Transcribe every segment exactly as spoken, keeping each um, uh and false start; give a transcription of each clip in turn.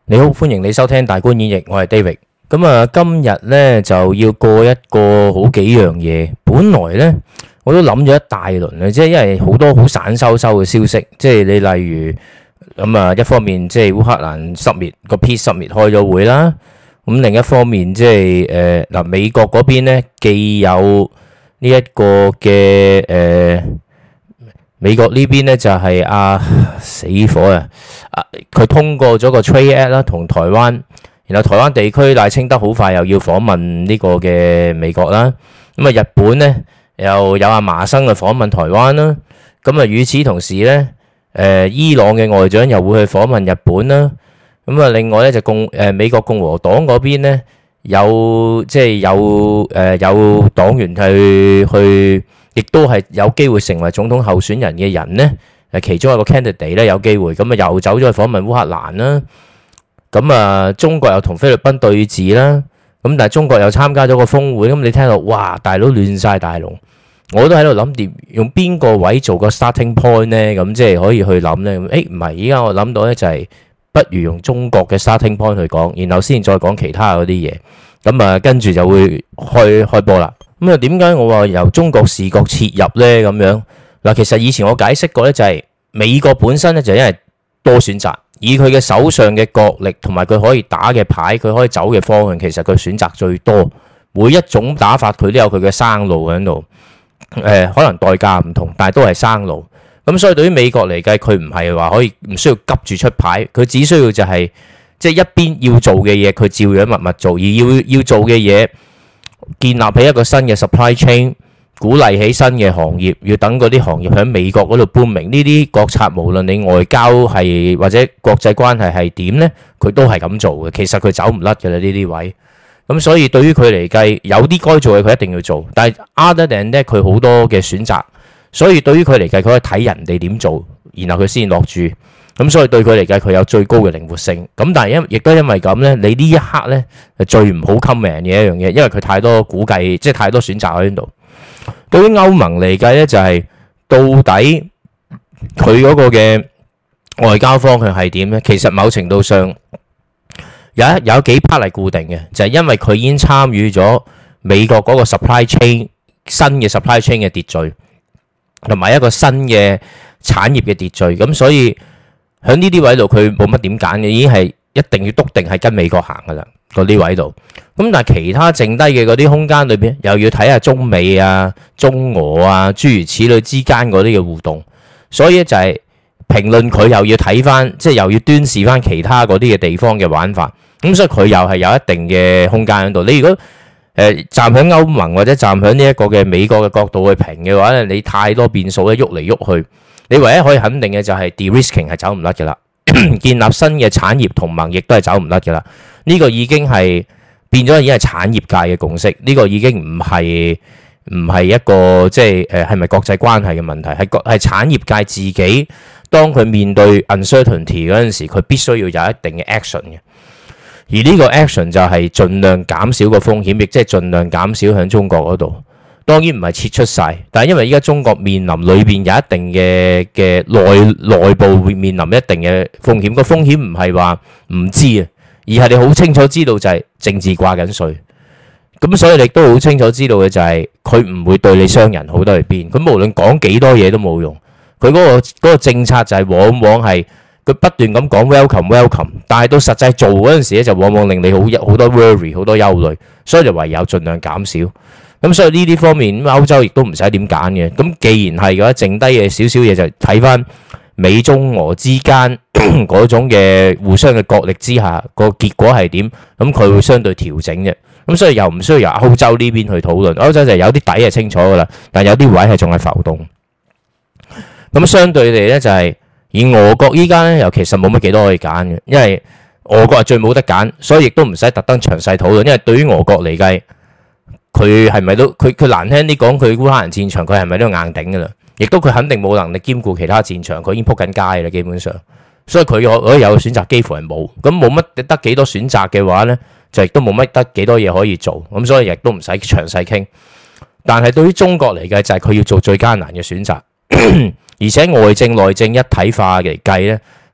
你好，歡迎你收聽大觀演繹，我係 David。咁啊，今日咧就要過一個好幾樣嘢。本來咧我都諗咗一大輪啊，即係因為好多好散收收嘅消息，即係你例如咁啊，一方面即係烏克蘭失滅個 Peace 失滅開咗會啦，咁另一方面即係誒嗱美國嗰邊咧既有呢一個嘅誒。美國呢邊咧就係啊死火啊！啊，佢通過咗個 Trade Act 啦，同台灣，然後台灣地區賴清德好快又要訪問呢個嘅美國啦。咁啊，日本咧又有阿麻生去訪問台灣啦。咁啊，與此同時咧，誒伊朗嘅外長又會去訪問日本啦。咁啊，另外咧就共誒美國共和黨嗰邊咧有即係有誒有黨員去去。亦都係有機會成為總統候選人嘅人呢，誒其中一個 candidate 咧有機會，咁啊又走咗去訪問烏克蘭啦，咁啊中國又同菲律賓對峙啦，咁但係中國又參加咗個峰會，咁你聽到哇大佬亂晒大龍，我都喺度諗掂用邊個位做個 starting point 呢？咁即係可以去諗呢。誒唔係，依家我諗到咧就係不如用中國嘅 starting point 去講，然後先再講其他嗰啲嘢，咁啊跟住就會開開波啦。咁啊，點解我話由中國視角切入呢？咁樣嗱，其實以前我解釋過呢，就係美國本身呢，就因為多選擇，以佢嘅手上嘅國力同埋佢可以打嘅牌，佢可以走嘅方向，其實佢選擇最多。每一種打法佢都有佢嘅生路喺度。誒、呃，可能代價唔同，但係都係生路。咁所以對於美國嚟計，佢唔係話可以唔需要急住出牌，佢只需要就係即係一邊要做嘅嘢，佢照樣默默做，而要要做嘅嘢。建立起一個新嘅 supply chain， 鼓勵起新嘅行業，要等嗰啲行業喺美國嗰度搬明。呢啲國策無論你外交係或者國際關係係點呢，佢都係咁做嘅。其實佢走唔甩嘅啦呢啲位。咁所以對於佢嚟計，有啲該做嘅佢一定要做。但係 other than that，佢好多嘅選擇。所以對於佢嚟計，佢可以睇人哋點做，然後佢先落注。咁所以對佢嚟計，佢有最高嘅靈活性。咁但係因亦都因為咁咧，你呢一刻咧係最唔好 comment 嘅一樣嘢，因為佢太多估計，即係太多選擇喺度。對於歐盟嚟計咧，就係到底佢嗰個嘅外交方向係點咧？其實某程度上有一有幾 part 係固定嘅，就係因為佢已經參與咗美國嗰個 supply chain 新嘅 supply chain 嘅秩序，同埋一個新嘅產業嘅秩序。咁所以喺呢啲位度，佢冇乜點揀嘅，已經係一定要篤定係跟美國行噶啦，嗰啲位度。咁但係其他剩低嘅嗰啲空間裏邊，又要睇下中美啊、中俄啊諸如此類之間嗰啲嘅互動。所以就係評論佢又要睇翻，即係又要端視翻其他嗰啲嘅地方嘅玩法。咁所以佢又係有一定嘅空間喺度。你如果誒、呃、站喺歐盟或者站喺呢一個嘅美國嘅角度去評嘅話咧，你太多變數咧，喐嚟喐去。你唯一可以肯定嘅就係 de-risking 係走唔甩嘅啦，建立新嘅產業同盟亦都係走唔甩嘅啦。呢個已經係變咗，已經係產業界嘅共識。呢個已經唔係唔係一個即係誒係咪國際關係嘅問題，係國係產業界自己當佢面對 uncertainty 嗰陣時，佢必須要有一定嘅 action 嘅。而呢個 action 就係盡量減少個風險，亦即係盡量減少喺中國嗰度。當然唔係撤出晒，但係因為依家中國面臨裏邊有一定嘅嘅內內部會面臨一定嘅風險，個風險唔係話唔知啊，而係你好清楚知道就係政治掛緊稅，咁所以你都好清楚知道嘅就係佢唔會對你商人好得去邊，佢無論講幾多嘢都冇用，佢嗰個嗰個政策就係往往係佢不斷咁講 welcome welcome，但係到實際做嗰陣時咧就往往令你好好多 worry 好多憂慮，所以就唯有盡量減少。咁所以呢啲方面，歐洲亦都唔使點揀嘅。咁既然係嘅話，剩低嘅少少嘢就睇翻美中俄之間嗰種嘅互相嘅角力之下，個結果係點？咁佢會相對調整嘅。咁所以又唔需要由歐洲呢邊去討論。歐洲就有啲底係清楚噶啦，但有啲位係仲係浮動。咁相對地咧，就係以俄國依家咧，又其實冇乜幾多可以揀嘅，因為俄國係最冇得揀，所以亦都唔使特登詳細討論。因為對於俄國嚟計，佢係咪都佢佢難聽啲講，佢烏克蘭戰場佢係咪都硬頂噶啦？亦都佢肯定冇能力兼顧其他戰場，佢已經撲緊街啦，基本上。所以佢可可以有選擇，幾乎係冇。咁冇乜得幾多選擇嘅話咧，就亦都冇乜得幾多嘢可以做。咁所以亦都唔使詳細傾。但係對於中國嚟計，就係佢要做最艱難嘅選擇，而且外政內政一體化嚟計咧，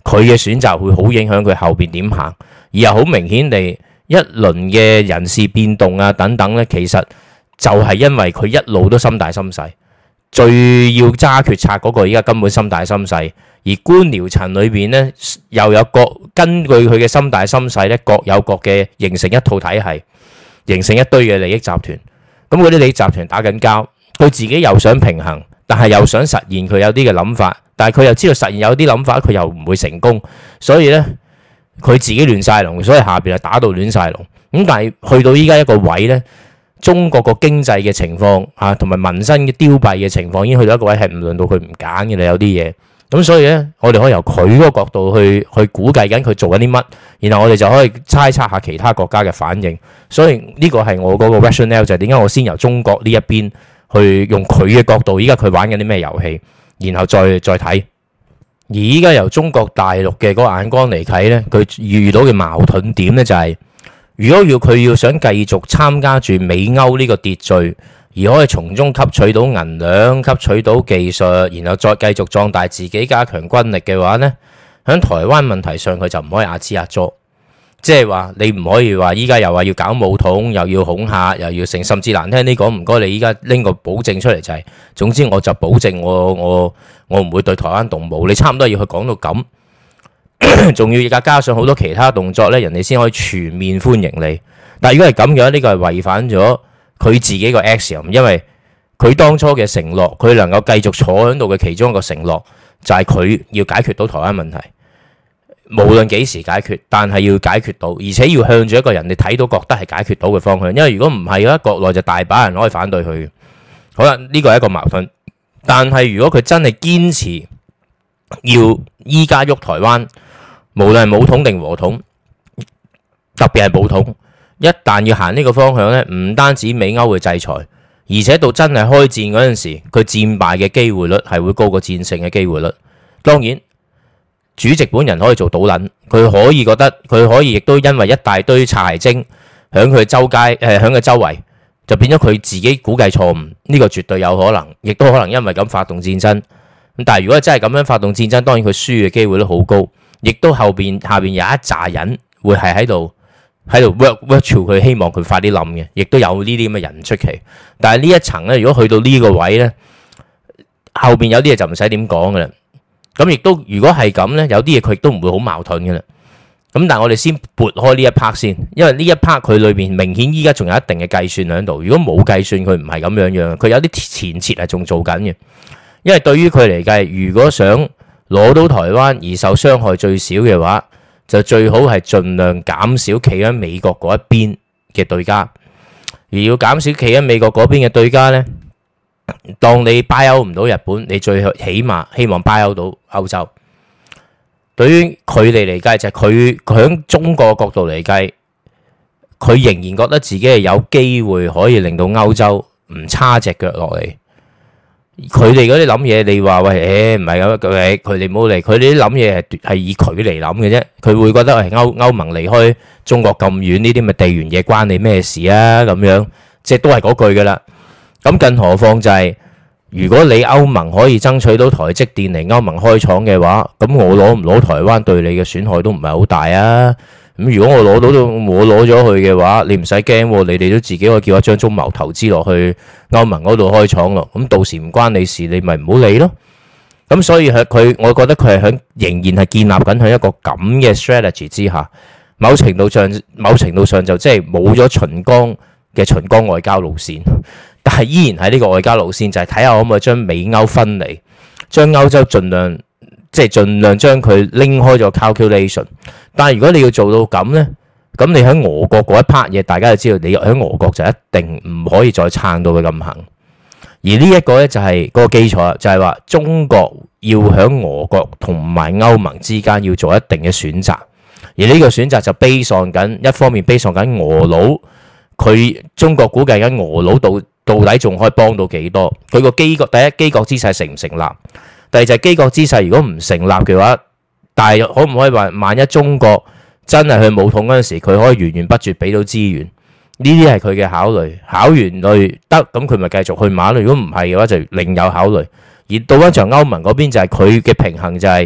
佢嘅選擇會好影響佢後邊點行，而又好明顯地一輪嘅人事變動啊等等呢，其實就係因為佢一路都心大心細，最要揸決策嗰個依家根本心大心細，而官僚層裏邊呢，又有各根據佢嘅心大心細呢，各有各嘅形成一套體系，形成一堆嘅利益集團。咁嗰啲利益集團打緊交，佢自己又想平衡，但係又想實現佢有啲嘅諗法，但係佢又知道實現有啲諗法佢又唔會成功，所以呢，佢自己亂晒龍，所以下邊係打到亂晒龍。咁但係去到依家一個位呢，中國個經濟嘅情況啊，同埋民生嘅凋敝嘅情況已經去到一個位係唔輪到佢唔揀嘅啦，有啲嘢。咁所以呢，我哋可以由佢嗰個角度去去估計緊佢做緊啲乜，然後我哋就可以猜測下其他國家嘅反應。所以呢個係我嗰個 rationale， 就係點解我先由中國呢一邊去用佢嘅角度，依家佢玩緊啲咩遊戲，然後再再睇。而依家由中國大陸嘅嗰個眼光嚟睇呢，佢遇到嘅矛盾點呢，就係、是，如果要佢要想繼續參加住美歐呢個秩序，而可以從中吸取到銀兩、吸取到技術，然後再繼續壯大自己、加強軍力嘅話呢，喺台灣問題上佢就唔可以壓支壓咗，即係話你唔可以話依家又話要搞武統，又要恐嚇，又要成，甚至難聽啲講，唔該你依家拎個保證出嚟就係、是，總之我就保證我我我唔會對台灣動武，你差唔多要去講到咁，仲要而家加上好多其他動作呢，人哋先可以全面歡迎你。但係如果係咁樣，呢個係違反咗佢自己個 axiom， 因為佢當初嘅承諾，佢能夠繼續坐喺度嘅其中一個承諾，就係佢要解決到台灣問題，無論幾時解決，但係要解決到，而且要向住一個人你睇到覺得係解決到嘅方向。因為如果唔係嘅話，國內就大把人可以反對佢。好啦，呢個係一個矛盾。但係如果佢真係堅持要依家喐台灣，無論係武統定和統，特別係武統，一旦要行呢個方向呢，唔單止美歐會制裁，而且到真係開戰嗰陣時，佢戰敗嘅機會率係會高過戰勝嘅機會率。當然，主席本人可以做倒撚，佢可以覺得佢可以亦都因為一大堆擦鞋精響佢周街誒響佢周圍，就變咗佢自己估計錯誤。呢個絕對有可能，亦都可能因為咁發動戰爭。咁但係如果真係咁樣發動戰爭，當然佢輸嘅機會都好高，亦都後邊下邊有一紮人會係喺度。喺度 work work 住佢，希望佢快啲冧嘅，亦都有呢啲咁嘅人出奇。但係呢一層咧，如果去到呢個位咧，後邊有啲嘢就唔使點講噶啦。咁亦都如果係咁咧，有啲嘢佢亦都唔會好矛盾噶啦。咁但係我哋先撥開呢一 part 先，因為呢一 part 佢裏邊明顯依家仲有一定嘅計算喺度。如果冇計算，佢唔係咁樣樣，佢有啲前設係仲做緊嘅。因為對於佢嚟計，如果想攞到台灣而受傷害最少嘅話，就最好係盡量減少企喺美國嗰一邊嘅對家，而要減少企喺美國嗰邊嘅對家呢，當你 buy out 唔到日本，你最起碼希望 buy out 到歐洲。對於佢哋嚟計，就係佢響中國角度嚟計，佢仍然覺得自己係有機會可以令到歐洲唔叉隻腳落嚟。佢哋嗰啲諗嘢，你話喂，誒唔係咁，佢佢哋冇嚟，佢哋啲諗嘢係係以佢嚟諗嘅啫。佢會覺得係歐歐盟離開中國咁遠，呢啲咪地緣嘢關你咩事啊？咁樣即係都係嗰句噶啦。咁更何況就係，如果你歐盟可以爭取到台積電嚟歐盟開廠嘅話，咁我攞唔攞台灣對你嘅損害都唔係好大啊。咁如果我攞到到我攞咗去嘅話，你唔使驚，你哋都自己可以叫一張中貿投資落去歐盟嗰度開廠咯。咁到時唔關你事，你咪唔好理咯。咁所以喺佢，我覺得佢係響仍然係建立緊喺一個咁嘅 strategy 之下，某程度上某程度上就即係冇咗秦剛嘅秦剛外交路線，但係依然喺呢個外交路線就係睇下可唔可以將美歐分離，將歐洲盡量。即係盡量將佢拎開咗 calculation， 但係如果你要做到咁呢，咁你喺俄國嗰一 part 嘢，大家就知道你喺俄國就一定唔可以再撐到佢咁行。而呢一個呢，就係嗰個基礎，就係話中國要喺俄國同埋歐盟之間要做一定嘅選擇，而呢個選擇就 base on緊一方面 base on緊俄佬，佢中國估計緊俄佬到到底仲可以幫到幾多？佢個基國第一基國姿勢成唔成立？第二就係基國姿勢，如果唔成立嘅話，但係可唔可以話，萬一中國真係去武統嗰陣時，佢可以源源不絕俾到資源？呢啲係佢嘅考慮。考完慮得，咁佢咪繼續去馬咯。如果唔係嘅話，就另有考慮。而到翻場歐盟嗰邊就係佢嘅平衡，就係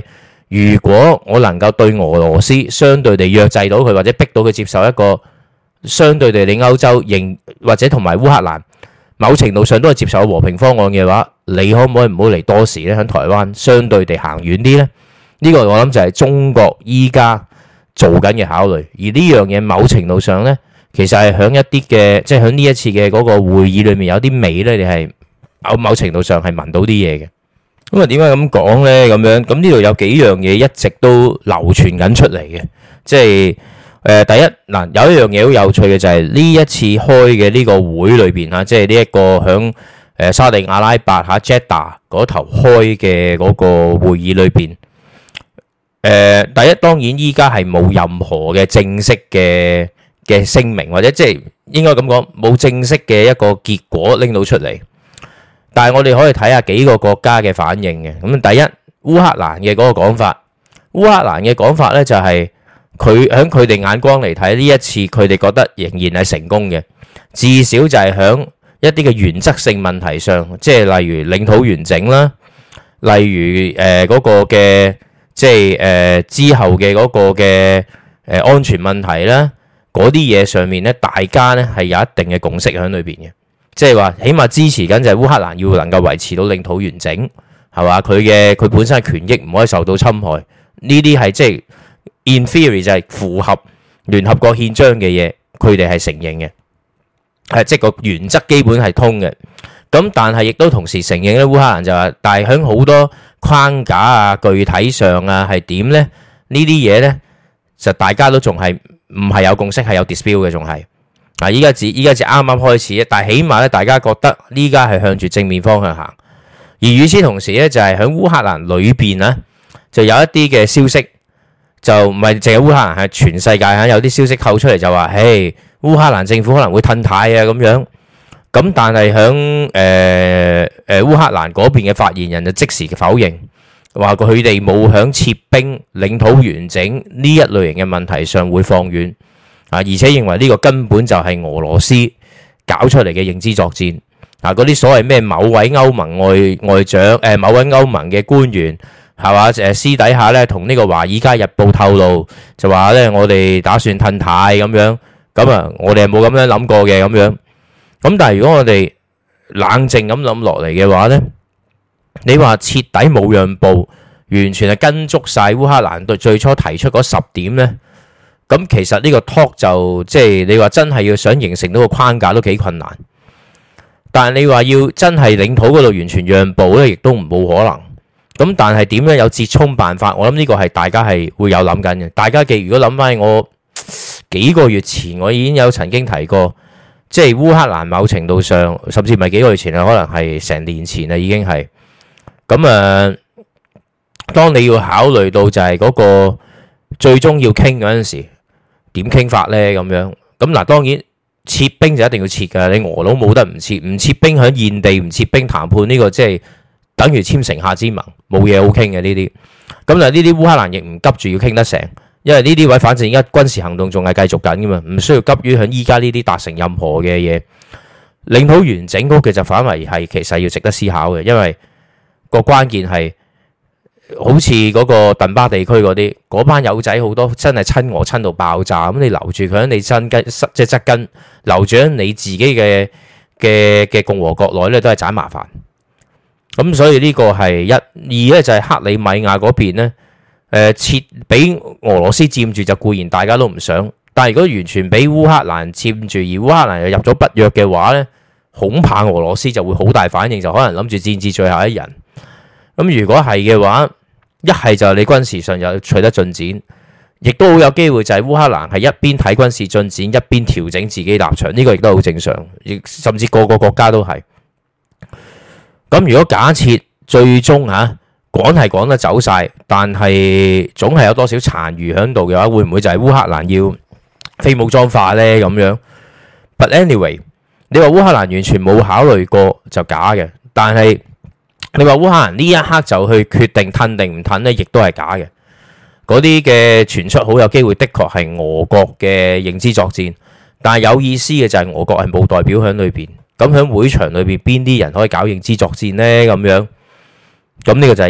如果我能夠對俄羅斯相對地約制到佢，或者逼到佢接受一個相對地你歐洲認或者同埋烏克蘭某程度上都係接受和平方案嘅話，你可唔可以唔好嚟多時咧？喺台灣相對地行遠啲呢？呢個我諗就係中國依家做緊嘅考慮。而呢樣嘢某程度上呢，其實係喺一啲嘅，即係喺呢一次嘅嗰個會議裏面有啲味呢，你係某某程度上係聞到啲嘢嘅。咁啊，點解咁講呢？咁樣咁呢度有幾樣嘢一直都流傳緊出嚟嘅，即係誒、呃、第一嗱，有一樣嘢好有趣嘅就係呢一次開嘅呢個會裏邊嚇，即係呢一個響誒沙地阿拉伯嚇 Jeddah 嗰頭開嘅嗰個會議裏邊，誒、呃、第一當然依家係冇任何嘅正式嘅嘅聲明，或者即係應該咁講冇正式嘅一個結果拎到出嚟。但係我哋可以睇下幾個國家嘅反應嘅。咁第一，烏克蘭嘅嗰個講法，烏克蘭嘅講法咧就係佢喺佢哋眼光嚟睇呢一次，佢哋覺得仍然係成功嘅，至少就係喺一啲嘅原則性問題上，即係例如領土完整啦，例如誒嗰個嘅即係誒之後嘅嗰個嘅誒安全問題啦，嗰啲嘢上面咧，大家咧係有一定嘅共識喺裏邊嘅。即係話，起碼支持緊就係烏克蘭要能夠維持到領土完整，係嘛？佢嘅佢本身嘅權益唔可以受到侵害，呢啲係即係 in theory 就係符合聯合國憲章嘅嘢，佢哋係承認嘅，係即係個原則基本係通嘅。咁但係亦都同時承認咧，烏克蘭就話，但係喺好多框架啊、具體上啊係點咧？呢啲嘢咧就大家都仲係唔係有共識，係有 dispute 嘅，仲係。嗱，依家至依家至啱啱開始，但係起碼咧，大家覺得呢家係向住正面方向行。而與此同時咧，就係喺烏克蘭裏邊咧，就有一啲嘅消息，就唔係淨係烏克蘭，係全世界嚇有啲消息透出嚟，就話，嘿，烏克蘭政府可能會褪軚啊咁樣。咁但係喺誒誒烏克蘭嗰邊嘅發言人就即時否認，話佢哋冇響撤兵、領土完整呢一類型嘅問題上會放軟。啊！而且認為呢個根本就係俄羅斯搞出嚟嘅認知作戰。啊！嗰啲所謂咩某位歐盟外外長，誒、呃、某位歐盟嘅官員係嘛？誒私底下咧同呢個《華爾街日報》透露，就話咧我哋打算褪軚咁樣。咁啊，我哋係冇咁樣諗過嘅咁樣。咁但係如果我哋冷靜咁諗落嚟嘅話咧，你話徹底冇讓步，完全係跟足晒烏克蘭對最初提出嗰十點咧？咁其實呢個 talk 就即係你話真係要想形成到個框架都幾困難，但係你話要真係領土嗰度完全讓步咧，亦都唔冇可能。咁但係點樣有折衷辦法？我諗呢個係大家係會有諗緊嘅。大家記，如果諗翻我幾個月前，我已經有曾經提過，即係烏克蘭某程度上，甚至唔係幾個月前啊，可能係成年前啦，已經係咁啊。當你要考慮到就係嗰個最終要傾嗰陣時。點傾法呢？咁樣咁嗱，當然撤兵就一定要撤㗎，你俄佬冇得唔撤，唔撤兵喺現地唔撤兵談判呢個即係等於簽城下之盟，冇嘢好傾嘅呢啲。咁但係呢啲烏克蘭亦唔急住要傾得成，因為呢啲位反正而家軍事行動仲係繼續緊㗎嘛，唔需要急於喺依家呢啲達成任何嘅嘢。領土完整嗰個就反為係其實要值得思考嘅，因為個關鍵係。好似嗰個頓巴地區嗰啲，嗰班友仔好多真係親俄親到爆炸，咁你留住佢喺你身根，即係側根留住喺你自己嘅嘅嘅共和國內咧，都係盞麻煩。咁所以呢個係一，二咧就係克里米亞嗰邊咧，誒設俾俄羅斯佔住就固然大家都唔想，但係如果完全俾烏克蘭佔住，而烏克蘭又入咗北約嘅話咧，恐怕俄羅斯就會好大反應，就可能諗住戰至最後一人。咁如果係嘅話，一係就你軍事上有取得進展，亦都好有機會就係烏克蘭係一邊睇軍事進展，一邊調整自己立場，呢個亦都好正常，亦甚至個個國家都係。咁如果假設最終嚇趕係趕得走晒，但係總係有多少殘餘喺度嘅話，會唔會就係烏克蘭要非武裝化呢？咁樣 ？But anyway，你話烏克蘭完全冇考慮過就假嘅，但係。你話烏克蘭呢一刻就去決定褪定唔褪呢，亦都係假嘅。嗰啲嘅傳出好有機會，的確係俄國嘅認知作戰。但係有意思嘅就係俄國係冇代表喺裏邊。咁喺會場裏邊邊啲人可以搞認知作戰呢？咁樣咁呢個就係一。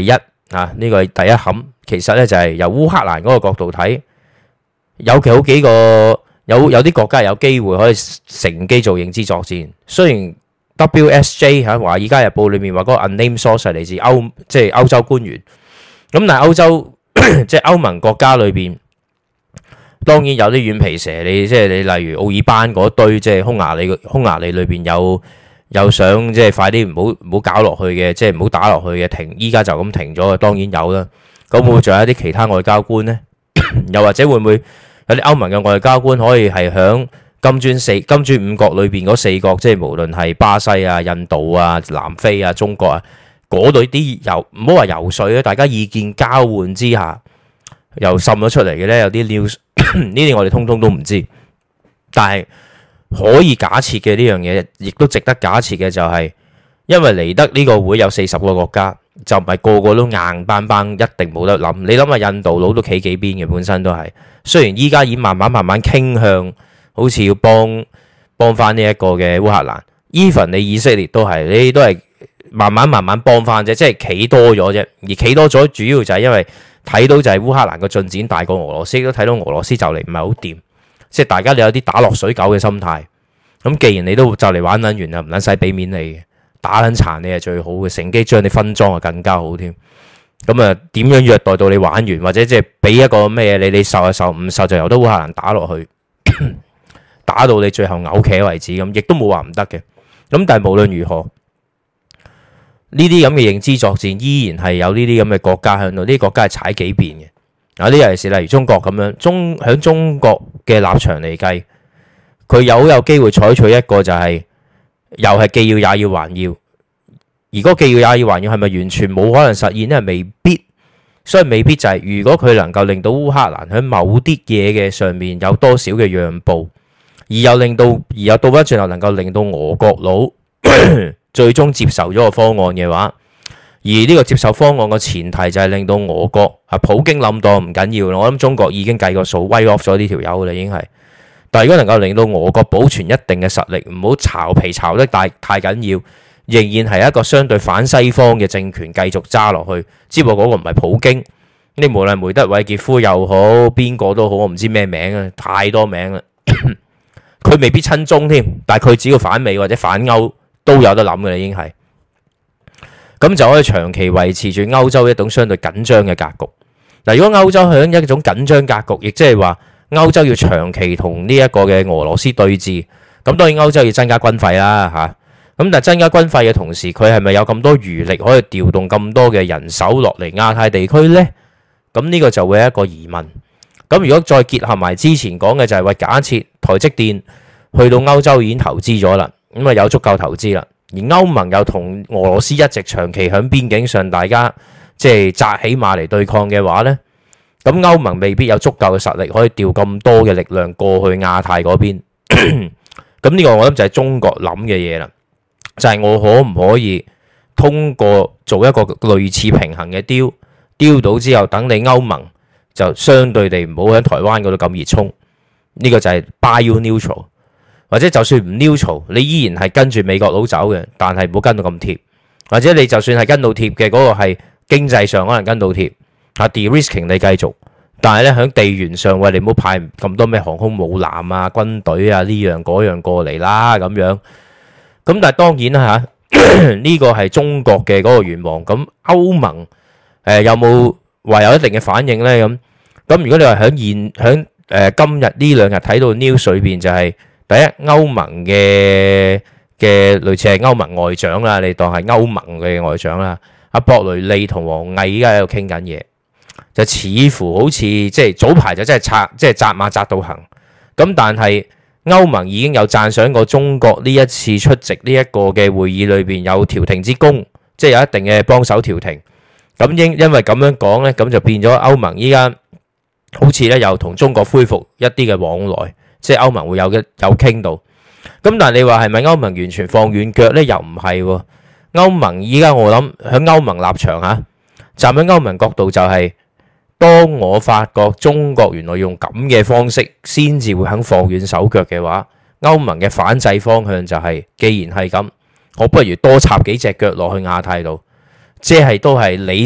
啊，呢個係第一冚。其實咧就係由烏克蘭嗰個角度睇，有其好幾個有有啲國家有機會可以乘機做認知作戰。雖然 W S J 喺《華爾街日報》裏面話嗰個 unnamed source 係嚟自歐即係歐洲官員，咁但係歐洲即係歐盟國家裏邊，當然有啲軟皮蛇，你即係你例如奧爾班嗰堆，即係匈牙利匈牙利裏邊有有想即係快啲唔好唔好搞落去嘅，即係唔好打落去嘅停，依家就咁停咗嘅，當然有啦。咁會唔會仲有一啲其他外交官呢？又或者會唔會有啲歐盟嘅外交官可以係響金磚四金磚五國裏邊嗰四國，即係無論係巴西啊、印度啊、南非啊、中國啊嗰類啲遊唔好話游說咧，大家意見交換之下又滲咗出嚟嘅呢？有啲 news 呢啲我哋通通都唔知，但係可以假設嘅呢樣嘢，亦都值得假設嘅就係，因為嚟得呢個會有四十個國家。就唔係個個都硬邦邦，一定冇得諗。你諗下印度佬都企幾邊嘅，本身都係。雖然依家已經慢慢慢慢傾向，好似要幫幫翻呢一個嘅烏克蘭。even 你以色列都係，你都係慢慢慢慢幫翻啫，即係企多咗啫。而企多咗，主要就係因為睇到就係烏克蘭個進展大過俄羅斯，都睇到俄羅斯就嚟唔係好掂，即係大家你有啲打落水狗嘅心態。咁既然你都就嚟玩撚完啦，唔撚使俾面你嘅。打撚殘你係最好嘅，乘機將你分裝啊更加好添。咁啊點樣虐待到你玩完，或者即係俾一個咩嘢你，你受就受，唔受就由得烏克蘭打落去，打到你最後嘔茄為止咁，亦都冇話唔得嘅。咁但係無論如何，呢啲咁嘅認知作戰依然係有呢啲咁嘅國家喺度，呢啲國家係踩幾邊嘅。有啲尤其是例如中國咁樣，中喺中國嘅立場嚟計，佢有有機會採取一個就係、是。又係既要也要還要，而嗰既要也要還要係咪完全冇可能實現呢？未必，所以未必就係、是、如果佢能夠令到烏克蘭喺某啲嘢嘅上面有多少嘅讓步，而又令到而又倒翻轉頭能夠令到俄國佬最終接受咗個方案嘅話，而呢個接受方案嘅前提就係令到俄國啊普京冧當唔緊要啦，我諗中國已經計個數 write off 咗呢條友啦，已經係。但係如果能夠令到俄國保存一定嘅實力，唔好巢皮巢得太太緊要，仍然係一個相對反西方嘅政權繼續揸落去。只不過嗰個唔係普京，你無論梅德韋傑夫又好，邊個都好，我唔知咩名啊，太多名啦。佢未必親中添，但係佢只要反美或者反歐都有得諗嘅啦，已經係。咁就可以長期維持住歐洲一種相對緊張嘅格局。嗱，如果歐洲響一種緊張格局，亦即係話。歐洲要長期同呢一個嘅俄羅斯對峙，咁當然歐洲要增加軍費啦嚇。咁但係增加軍費嘅同時，佢係咪有咁多餘力可以調動咁多嘅人手落嚟亞太地區呢？咁呢個就會係一個疑問。咁如果再結合埋之前講嘅就係話，假設台積電去到歐洲已經投資咗啦，咁啊有足夠投資啦，而歐盟又同俄羅斯一直長期喺邊境上大家即係紮起馬嚟對抗嘅話呢？咁歐盟未必有足夠嘅實力可以調咁多嘅力量過去亞太嗰邊，咁呢個我諗就係中國諗嘅嘢啦，就係、是、我可唔可以通過做一個類似平衡嘅 deal， deal 到之後，等你歐盟就相對地唔好喺台灣嗰度咁熱衷，呢、這個就係 bio neutral， 或者就算唔 neutral， 你依然係跟住美國佬走嘅，但係唔好跟到咁貼，或者你就算係跟到貼嘅嗰個係經濟上可能跟到貼。啊 de-risking 你繼續，但係咧喺地緣上，喂，你唔好派咁多咩航空母艦啊、軍隊啊呢樣嗰樣過嚟啦咁樣。咁但係當然啦嚇，呢個係中國嘅嗰個願望。咁歐盟誒有冇話有一定嘅反應咧？咁咁如果你話喺現喺誒今日呢兩日睇到 news 裏邊就係第一歐盟嘅嘅類似係歐盟外長啦，你當係歐盟嘅外長啦，阿博雷利同王毅依家喺度傾緊嘢。就似乎好似即係早排就真係拆即係紮馬紮到行咁，但係歐盟已經有讚賞過中國呢一次出席呢一個嘅會議裏邊有調停之功，即係有一定嘅幫手調停。咁因因為咁樣講呢，咁就變咗歐盟依家好似咧又同中國恢復一啲嘅往來，即係歐盟會有嘅有傾到。咁但係你話係咪歐盟完全放軟腳呢？又唔係喎。歐盟依家我諗喺歐盟立場嚇，站喺歐盟角度就係。當我發覺中國原來用咁嘅方式先至會肯放軟手腳嘅話，歐盟嘅反制方向就係，既然係咁，我不如多插幾隻腳落去亞太度，即係都係你識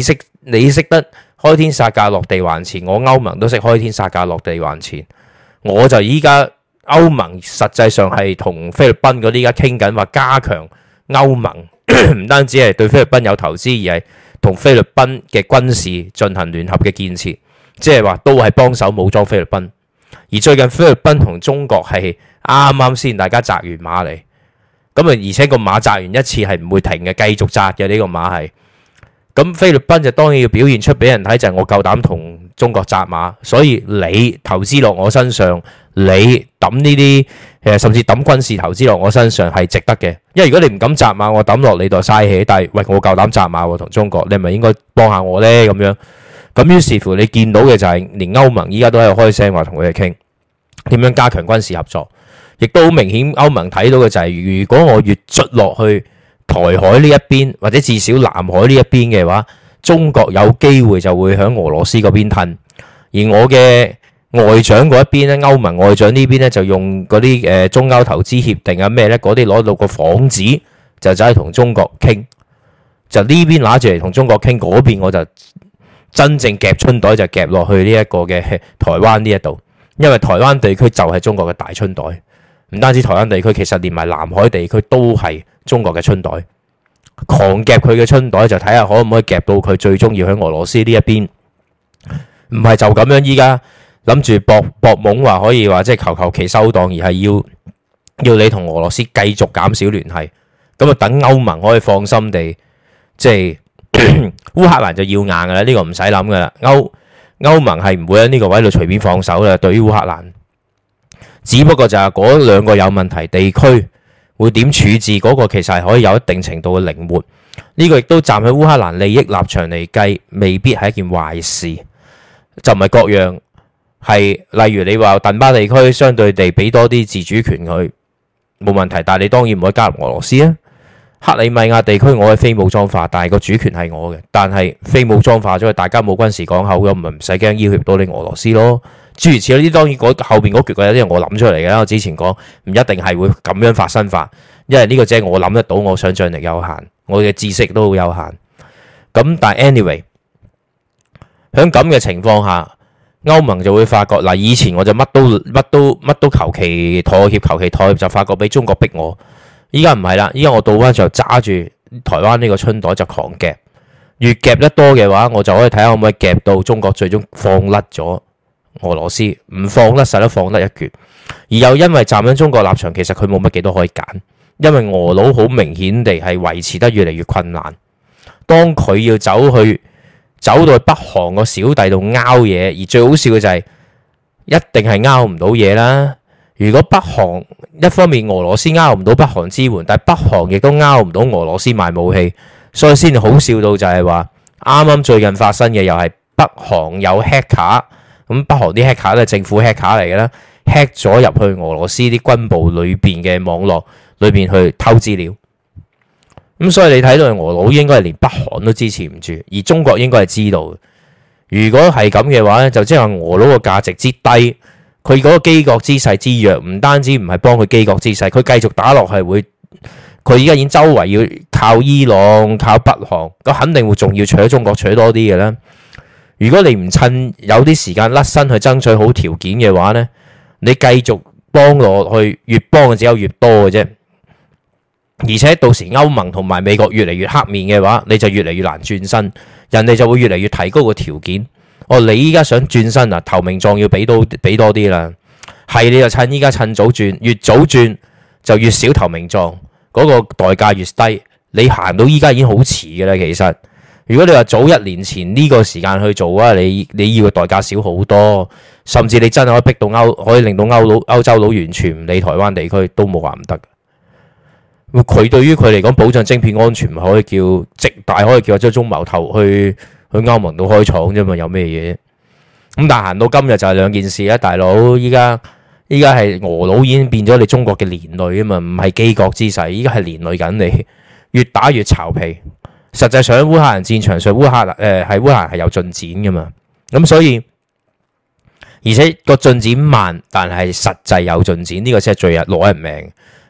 你識得開天殺價落地還錢，我歐盟都識開天殺價落地還錢。我就依家歐盟實際上係同菲律賓嗰啲依家傾緊話加強歐盟，唔單止係對菲律賓有投資，而係同菲律賓嘅軍事進行聯合嘅建設，即係話都係幫手武裝菲律賓。而最近菲律賓同中國係啱啱先大家紮完馬嚟，咁啊而且個馬紮完一次係唔會停嘅，繼續紮嘅呢個馬係。咁菲律賓就當然要表現出俾人睇，就係我夠膽同中國紮馬，所以你投資落我身上，你抌呢啲誒甚至抌軍事投資落我身上係值得嘅。因為如果你唔敢紮馬，我抌落你度嘥氣。但係喂，我夠膽紮馬喎，同中國，你係咪應該幫下我呢？咁樣咁於是乎，你見到嘅就係連歐盟依家都喺度開聲話同佢哋傾點樣加強軍事合作，亦都好明顯歐盟睇到嘅就係，如果我越捽落去台海呢一邊，或者至少南海呢一邊嘅話，中國有機會就會響俄羅斯嗰邊褪。而我嘅外長嗰一邊咧，歐盟外長呢邊咧就用嗰啲誒中歐投資協定啊咩咧，嗰啲攞到個幌子就走去同中國傾，就呢邊拿住嚟同中國傾，嗰邊我就真正夾春袋就夾落去呢一個嘅台灣呢一度，因為台灣地區就係中國嘅大春袋，唔單止台灣地區，其實連埋南海地區都係中國嘅春袋，狂夾佢嘅春袋就睇下可唔可以夾到佢最終要喺俄羅斯呢一邊，唔係就咁樣依家諗住搏搏懵話可以話即係求求其收檔，而係要要你同俄羅斯繼續減少聯繫，咁啊等歐盟可以放心地即係烏克蘭就要硬噶啦，呢個唔使諗噶啦，歐歐盟係唔會喺呢個位度隨便放手啦，對於烏克蘭，只不過就係嗰兩個有問題地區會點處置嗰個，其實係可以有一定程度嘅靈活。呢個亦都站喺烏克蘭利益立場嚟計，未必係一件壞事。就唔係各樣係，例如你話頓巴地區相對地俾多啲自主權佢冇問題，但係你當然唔可以加入俄羅斯啊。克里米亞地區我係非武裝化，但係個主權係我嘅，但係非武裝化咗，大家冇軍事港口咁，咪唔使驚要挾到你俄羅斯咯。諸如此類，呢當然嗰後邊嗰橛有啲係我諗出嚟嘅。我之前講唔一定係會咁樣發生法，因為呢個只係我諗得到，我想像力有限，我嘅知識都好有限。咁但係 anyway， 喺咁嘅情況下，歐盟就會發覺嗱，以前我就乜都乜都乜都求其妥協，求其妥協就發覺俾中國逼我。依家唔係啦，依家我倒翻就揸住台灣呢個春袋就狂夾，越夾得多嘅話，我就可以睇下可唔可以夾到中國最終放甩咗俄羅斯，唔放甩實都放得一橛。而又因為站喺中國立場，其實佢冇乜幾多可以揀，因為俄佬好明顯地係維持得越嚟越困難。當佢要走去走到去北韓個小弟度拗嘢，而最好笑嘅就係一定係拗唔到嘢啦。如果北韓一方面俄羅斯拗唔到北韓支援，但係北韓亦都拗唔到俄羅斯賣武器，所以先好笑到就係話啱啱最近發生嘅又係北韓有 hacker， 咁北韓啲 hacker 都係政府 hacker 嚟嘅啦 ，hack 咗入去俄羅斯啲軍部裏邊嘅網絡裏邊去偷資料。咁所以你睇到俄佬應該係連北韓都支持唔住，而中國應該係知道。如果係咁嘅話咧，就即係話俄佬個價值之低。佢嗰個機國姿勢之弱，唔單止唔係幫佢機國姿勢，佢繼續打落係會，佢而家已經周圍要靠伊朗、靠北韓，咁肯定會仲要取中國取多啲嘅啦。如果你唔趁有啲時間甩身去爭取好條件嘅話呢，你繼續幫落去，越幫嘅只有越多嘅啫。而且到時歐盟同埋美國越嚟越黑面嘅話，你就越嚟越難轉身，人哋就會越嚟越提高個條件。哦，你依家想轉身啊？投名狀要俾到俾多啲啦，係你就趁依家趁早轉，越早轉就越少投名狀，嗰個代價越低。你行到依家已經好遲嘅啦，其實如果你話早一年前呢個時間去做啊，你你要嘅代價少好多，甚至你真係可以逼到歐，可以令到歐佬歐洲佬完全唔理台灣地區都冇話唔得。佢對於佢嚟講，保障晶片安全唔可以叫直大，可以叫張忠謀頭去。去歐盟度開廠啫嘛，有咩嘢？咁但係行到今日就係兩件事啦，大佬。依家依家係俄佬已經變咗你中國嘅連累啊嘛，唔係機國之勢，依家係連累緊你，越打越巢皮。實際上喺烏克蘭戰場上，烏克蘭誒係烏克蘭係有進展噶嘛，咁所以而且個進展慢，但係實際有進展，呢、這個先係最日攞人命。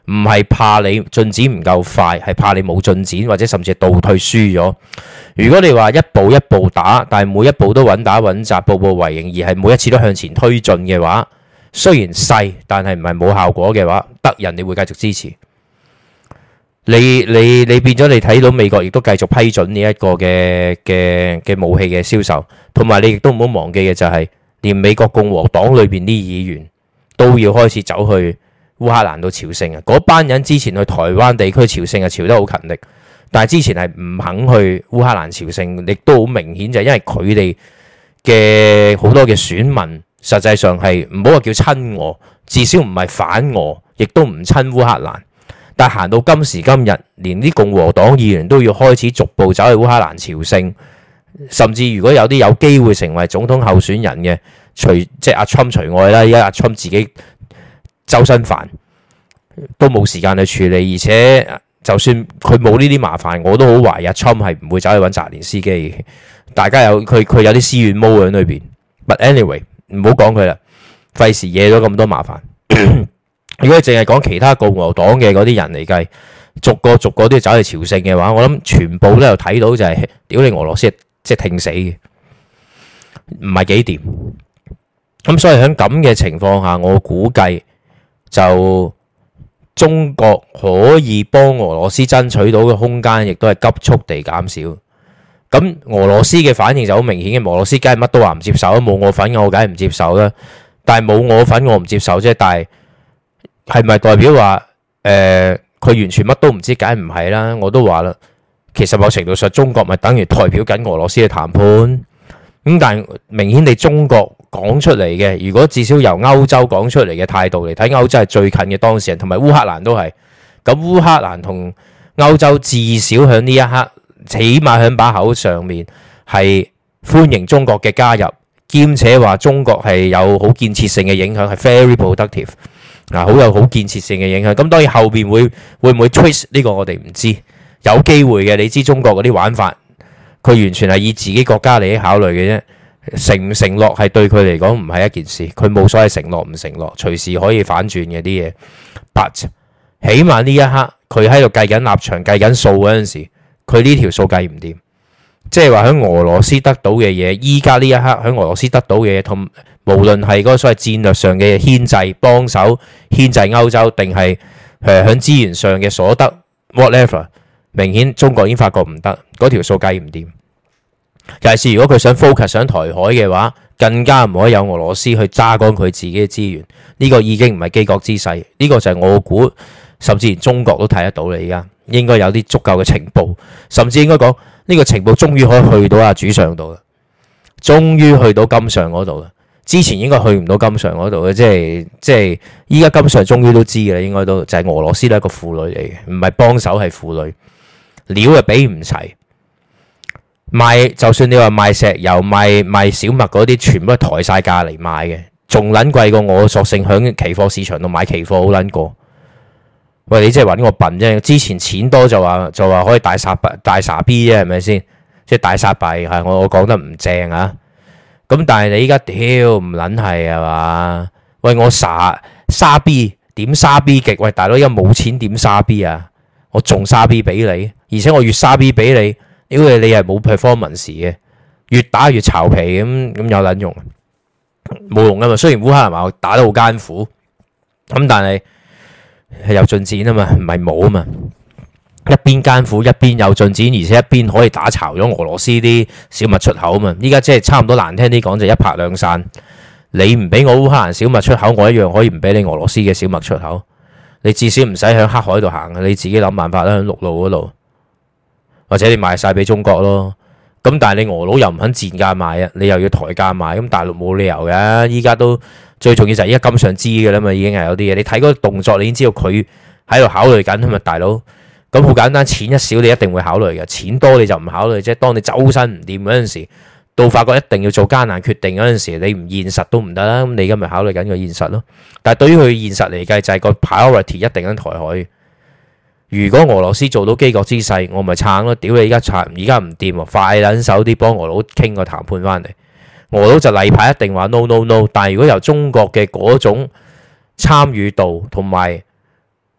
唔係怕你進展唔夠快，係怕你冇進展，或者甚至係倒退輸咗。如果你話一步一步打，但係每一步都穩打穩紮，步步為營，而係每一次都向前推進嘅話，雖然細，但係唔係冇效果嘅話，得人你會繼續支持。你你你變咗你睇到美國亦都繼續批准呢一個嘅嘅嘅武器嘅銷售，同埋你亦都唔好忘記嘅就係，連美國共和黨裏邊啲議員都要開始走去烏克蘭度朝聖啊！嗰班人之前去台灣地區朝聖啊，朝得好勤力，但係之前係唔肯去烏克蘭朝聖，亦都好明顯就係因為佢哋嘅好多嘅選民實際上係唔好話叫親俄，至少唔係反俄，亦都唔親烏克蘭。但行到今時今日，連啲共和黨議員都要開始逐步走去烏克蘭朝聖，甚至如果有啲有機會成為總統候選人嘅，除即係阿川除外啦，而家阿川自己周身煩，都冇時間去處理，而且就算佢冇呢啲麻煩，我都好懷疑阿川係唔會走去揾澤連斯基嘅。大家有佢佢有啲私怨毛喺裏邊。But anyway， 唔好講佢啦，費事惹咗咁多麻煩。如果淨係講其他共和黨嘅嗰啲人嚟計，逐個逐個都要走去朝聖嘅話，我諗全部都有睇到就係、是、屌你俄羅斯即係聽死嘅，唔係幾掂。咁所以喺咁嘅情況下，我估計就中國可以幫俄羅斯爭取到嘅空間，亦都係急速地減少。咁俄羅斯嘅反應就好明顯嘅，俄羅斯梗係乜都話唔接受，冇我份我梗係唔接受啦。但係冇我份我唔接受啫，但係。係咪代表話誒佢完全乜都唔知？梗係唔係啦！我都話啦，其實某程度上中國咪等於代表緊俄羅斯嘅談判咁，但係明顯地中國講出嚟嘅，如果至少由歐洲講出嚟嘅態度嚟睇，歐洲係最近嘅當事人，同埋烏克蘭都係。咁烏克蘭同歐洲至少喺呢一刻，起碼喺把口上面係歡迎中國嘅加入，兼且話中國係有好建設性嘅影響，係 very productive。嗱，好有好建設性嘅影響。咁當然後邊會會唔會 twist 呢個我哋唔知，有機會嘅。你知中國嗰啲玩法，佢完全係以自己國家利益考慮嘅啫。承唔承諾係對佢嚟講唔係一件事，佢冇所謂承諾唔承諾，隨時可以反轉嘅啲嘢。But 起碼呢一刻佢喺度計緊立場、計緊數嗰陣時，佢呢條數計唔掂。即係話喺俄羅斯得到嘅嘢，依家呢一刻喺俄羅斯得到嘅嘢同。無論係嗰個所謂戰略上嘅牽制幫手牽制歐洲，定係誒喺資源上嘅所得 whatever， 明顯中國已經發覺唔得，嗰條數計唔掂。尤其是如果佢想 focus 上台海嘅話，更加唔可以有俄羅斯去揸乾佢自己嘅資源。呢、這個已經唔係機國之勢，呢、這個就係我估，甚至連中國都睇得到啦。而家應該有啲足夠嘅情報，甚至應該講呢個情報終於可以去到阿主上度啦，終於去到金上嗰度啦。之前應該去唔到金上嗰度嘅，即係即係依家金上終於都知嘅啦，應該都就係、是、俄羅斯都係一個婦女嚟嘅，唔係幫手係婦女，料又俾唔齊，賣就算你話賣石油、賣賣小麥嗰啲，全部係抬晒價嚟賣嘅，仲撚貴過我索性響期貨市場度買期貨好撚過。喂，你即係揾我笨啫！之前錢多就話就話可以大殺大傻 B 啫，係咪先？即係大殺幣係我我講得唔正啊！咁但係你依家屌唔撚係啊嘛？喂，我沙沙 B 點沙 B 極？喂，大佬依家冇錢點沙 B 啊？我仲沙 B 俾你，而且我越沙 B 俾你，屌你你係冇 performance 嘅，越打越巢皮咁咁有撚用？冇用啊嘛！雖然烏克蘭話打得好艱苦，咁但係係有進展啊嘛，唔係冇啊嘛。一邊艱苦一邊有進展，而且一邊可以打巢咗俄羅斯啲小麥出口啊嘛！依家即係差唔多難聽啲講就一拍兩散。你唔俾我烏克蘭小麥出口，我一樣可以唔俾你俄羅斯嘅小麥出口。你至少唔使喺黑海度行，你自己諗辦法啦，喺陸路嗰度，或者你賣晒俾中國咯。咁但係你俄佬又唔肯賤價賣啊，你又要抬價賣，咁大陸冇理由嘅。依家都最重要就係依家金上知嘅啦嘛，已經係有啲嘢。你睇嗰個動作，你已經知道佢喺度考慮緊啊嘛，大佬。咁好簡單，錢一少你一定會考慮嘅，錢多你就唔考慮啫。當你周身唔掂嗰陣時，到發覺一定要做艱難決定嗰陣時，你唔現實都唔得啦。咁你而家咪考慮緊個現實咯。但係對於佢現實嚟計，就係個 priority 一定喺台海。如果俄羅斯做到機國之勢，我咪撐咯。屌你而家撐，而家唔掂喎，快撚手啲幫俄佬傾個談判翻嚟。俄佬就例牌一定話 no no no。但係如果由中國嘅嗰種參與度同埋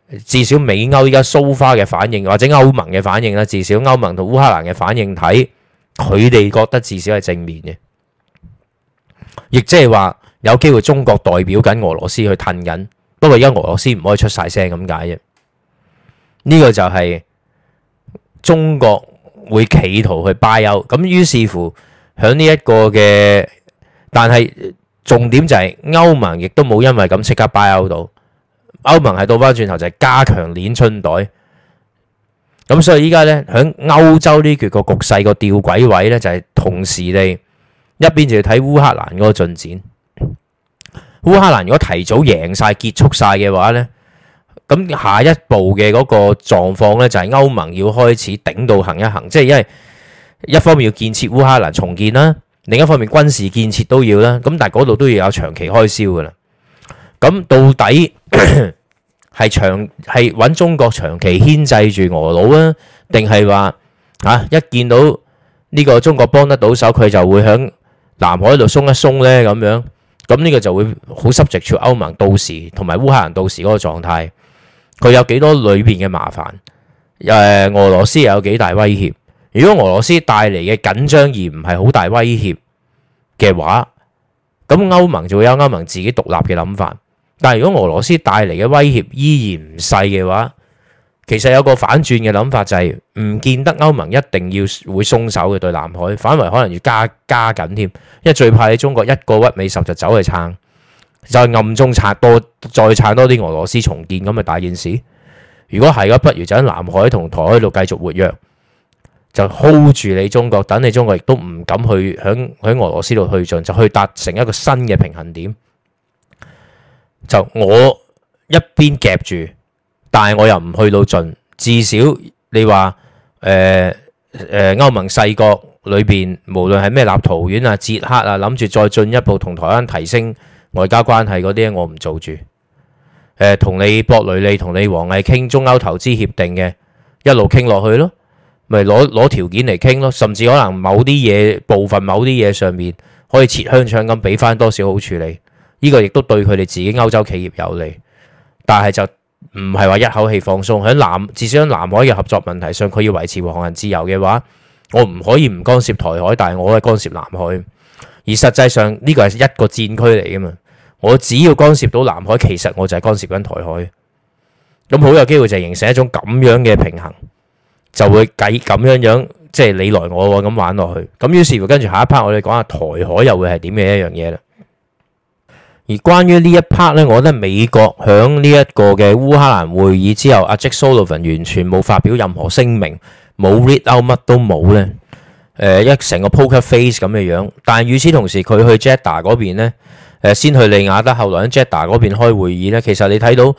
至少美歐依家蘇花嘅反應，或者歐盟嘅反應啦，至少歐盟同烏克蘭嘅反應睇，佢哋覺得至少係正面嘅，亦即係話有機會中國代表緊俄羅斯去褪緊，不過而家俄羅斯唔可以出晒聲咁解啫。呢個就係中國會企圖去 buy out，咁於是乎響呢一個嘅，但係重點就係歐盟亦都冇因為咁即刻 buy out 到。歐盟係倒翻轉頭就係加強鏈春袋，咁所以依家咧喺歐洲呢橛個局勢個吊詭位咧就係同時地一邊就要睇烏克蘭嗰個進展。烏克蘭如果提早贏晒結束晒嘅話咧，咁下一步嘅嗰個狀況咧就係歐盟要開始頂到行一行，即係因為一方面要建設烏克蘭重建啦，另一方面軍事建設都要啦，咁但係嗰度都要有長期開銷噶啦。咁到底係長係揾中國長期牽制住俄佬啊，定係話嚇一見到呢個中國幫得到手，佢就會響南海度鬆一鬆呢？咁樣？咁呢個就會好subject to歐盟到時同埋烏克蘭到時嗰個狀態，佢有幾多裏邊嘅麻煩？誒，俄羅斯又有幾大威脅？如果俄羅斯帶嚟嘅緊張而唔係好大威脅嘅話，咁歐盟就會有歐盟自己獨立嘅諗法。但係如果俄羅斯帶嚟嘅威脅依然唔細嘅話，其實有個反轉嘅諗法就係唔見得歐盟一定要會鬆手嘅對南海，反為可能要加加緊添，因為最怕你中國一個屈尾十就走去撐，就暗中撐多再撐多啲俄羅斯重建咁咪大件事。如果係嘅，不如就喺南海同台海度繼續活躍，就 hold 住你中國，等你中國亦都唔敢去響喺俄羅斯度去進，就去達成一個新嘅平衡點。就我一邊夾住，但係我又唔去到盡，至少你話誒誒歐盟細國裏邊，無論係咩立陶宛啊、捷克啊，諗住再進一步同台灣提升外交關係嗰啲，我唔做住。誒、呃，同你博雷利同你王毅傾中歐投資協定嘅，一路傾落去咯，咪攞攞條件嚟傾咯，甚至可能某啲嘢部分某啲嘢上面可以切香腸咁俾翻多少好處理。呢個亦都對佢哋自己歐洲企業有利，但係就唔係話一口氣放鬆喺南，至少喺南海嘅合作問題上，佢要維持航行自由嘅話，我唔可以唔干涉台海，但係我可以干涉南海。而實際上呢個係一個戰區嚟㗎嘛，我只要干涉到南海，其實我就係干涉緊台海。咁好有機會就形成一種咁樣嘅平衡，就會計咁樣樣，即係你來我往咁玩落去。咁於是乎跟住下一 part 我哋講下台海又會係點嘅一樣嘢啦。而關於呢一 part 咧，我覺得美國響呢一個嘅烏克蘭會議之後，阿 Jake Sullivan 完全冇發表任何聲明，冇 read out 乜都冇咧。誒，一成個 poker face 咁嘅樣。但係與此同時，佢去 Jeddah 嗰邊咧，誒先去利雅得，後來喺 Jeddah 嗰邊開會議咧。其實你睇到誒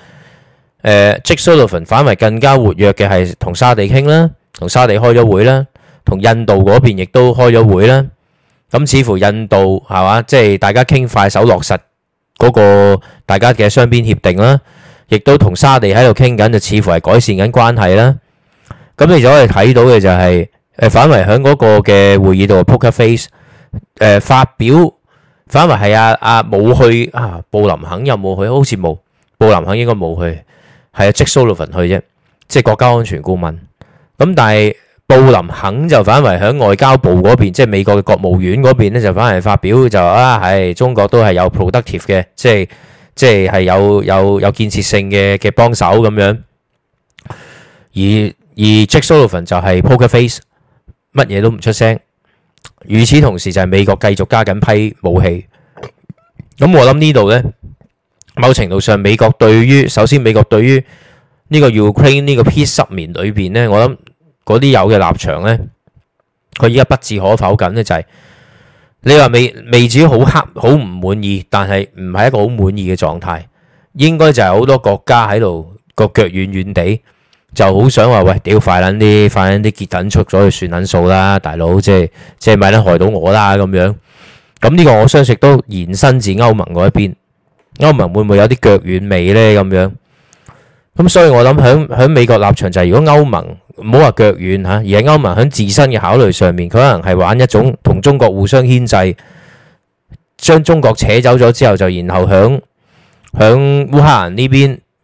Jake Sullivan 反為更加活躍嘅係同沙地傾啦，同沙地開咗會啦，同印度嗰邊亦都開咗會啦。咁似乎印度係嘛，即係大家傾快手落實嗰個大家嘅雙邊協定啦，亦都同沙地喺度傾緊，就似乎係改善緊關係啦。咁你就可以睇到嘅就係誒反為喺嗰個嘅會議度 poker face 誒發表，反為係阿阿冇去啊，布林肯有冇去？好似冇，布林肯應該冇去，係阿 Jake Sullivan 去啫，即係國家安全顧問。咁但係布林肯就反為喺外交部嗰邊，即係美國嘅國務院嗰邊咧，就反而發表就啊，係中國都係有 productive 嘅，即係即係係有有有建設性嘅嘅幫手咁樣。而而 Jake Sullivan 就係 poker face，乜嘢都唔出聲。與此同時就係美國繼續加緊批武器。咁我諗呢度咧，某程度上美國對於首先美國對於呢個 Ukraine 呢個 peace 十年裏邊咧，我諗。嗰啲有嘅立場咧，佢依家不置可否緊咧，就係你話未未至於好黑好唔滿意，但係唔係一個好滿意嘅狀態。應該就係好多國家喺度個腳軟軟地，就好想話喂，屌快撚啲，快撚啲結等出咗去算撚數啦，大佬即係即係咪撚害到我啦咁樣。咁呢個我相信都延伸至歐盟嗰一邊，歐盟會唔會有啲腳軟味咧咁樣？咁所以我諗喺喺美國立場就係，如果歐盟唔好話腳軟嚇，而係歐盟喺自身嘅考慮上面，佢可能係玩一種同中國互相牽制，將中國扯走咗之後，就然後響響烏克蘭呢邊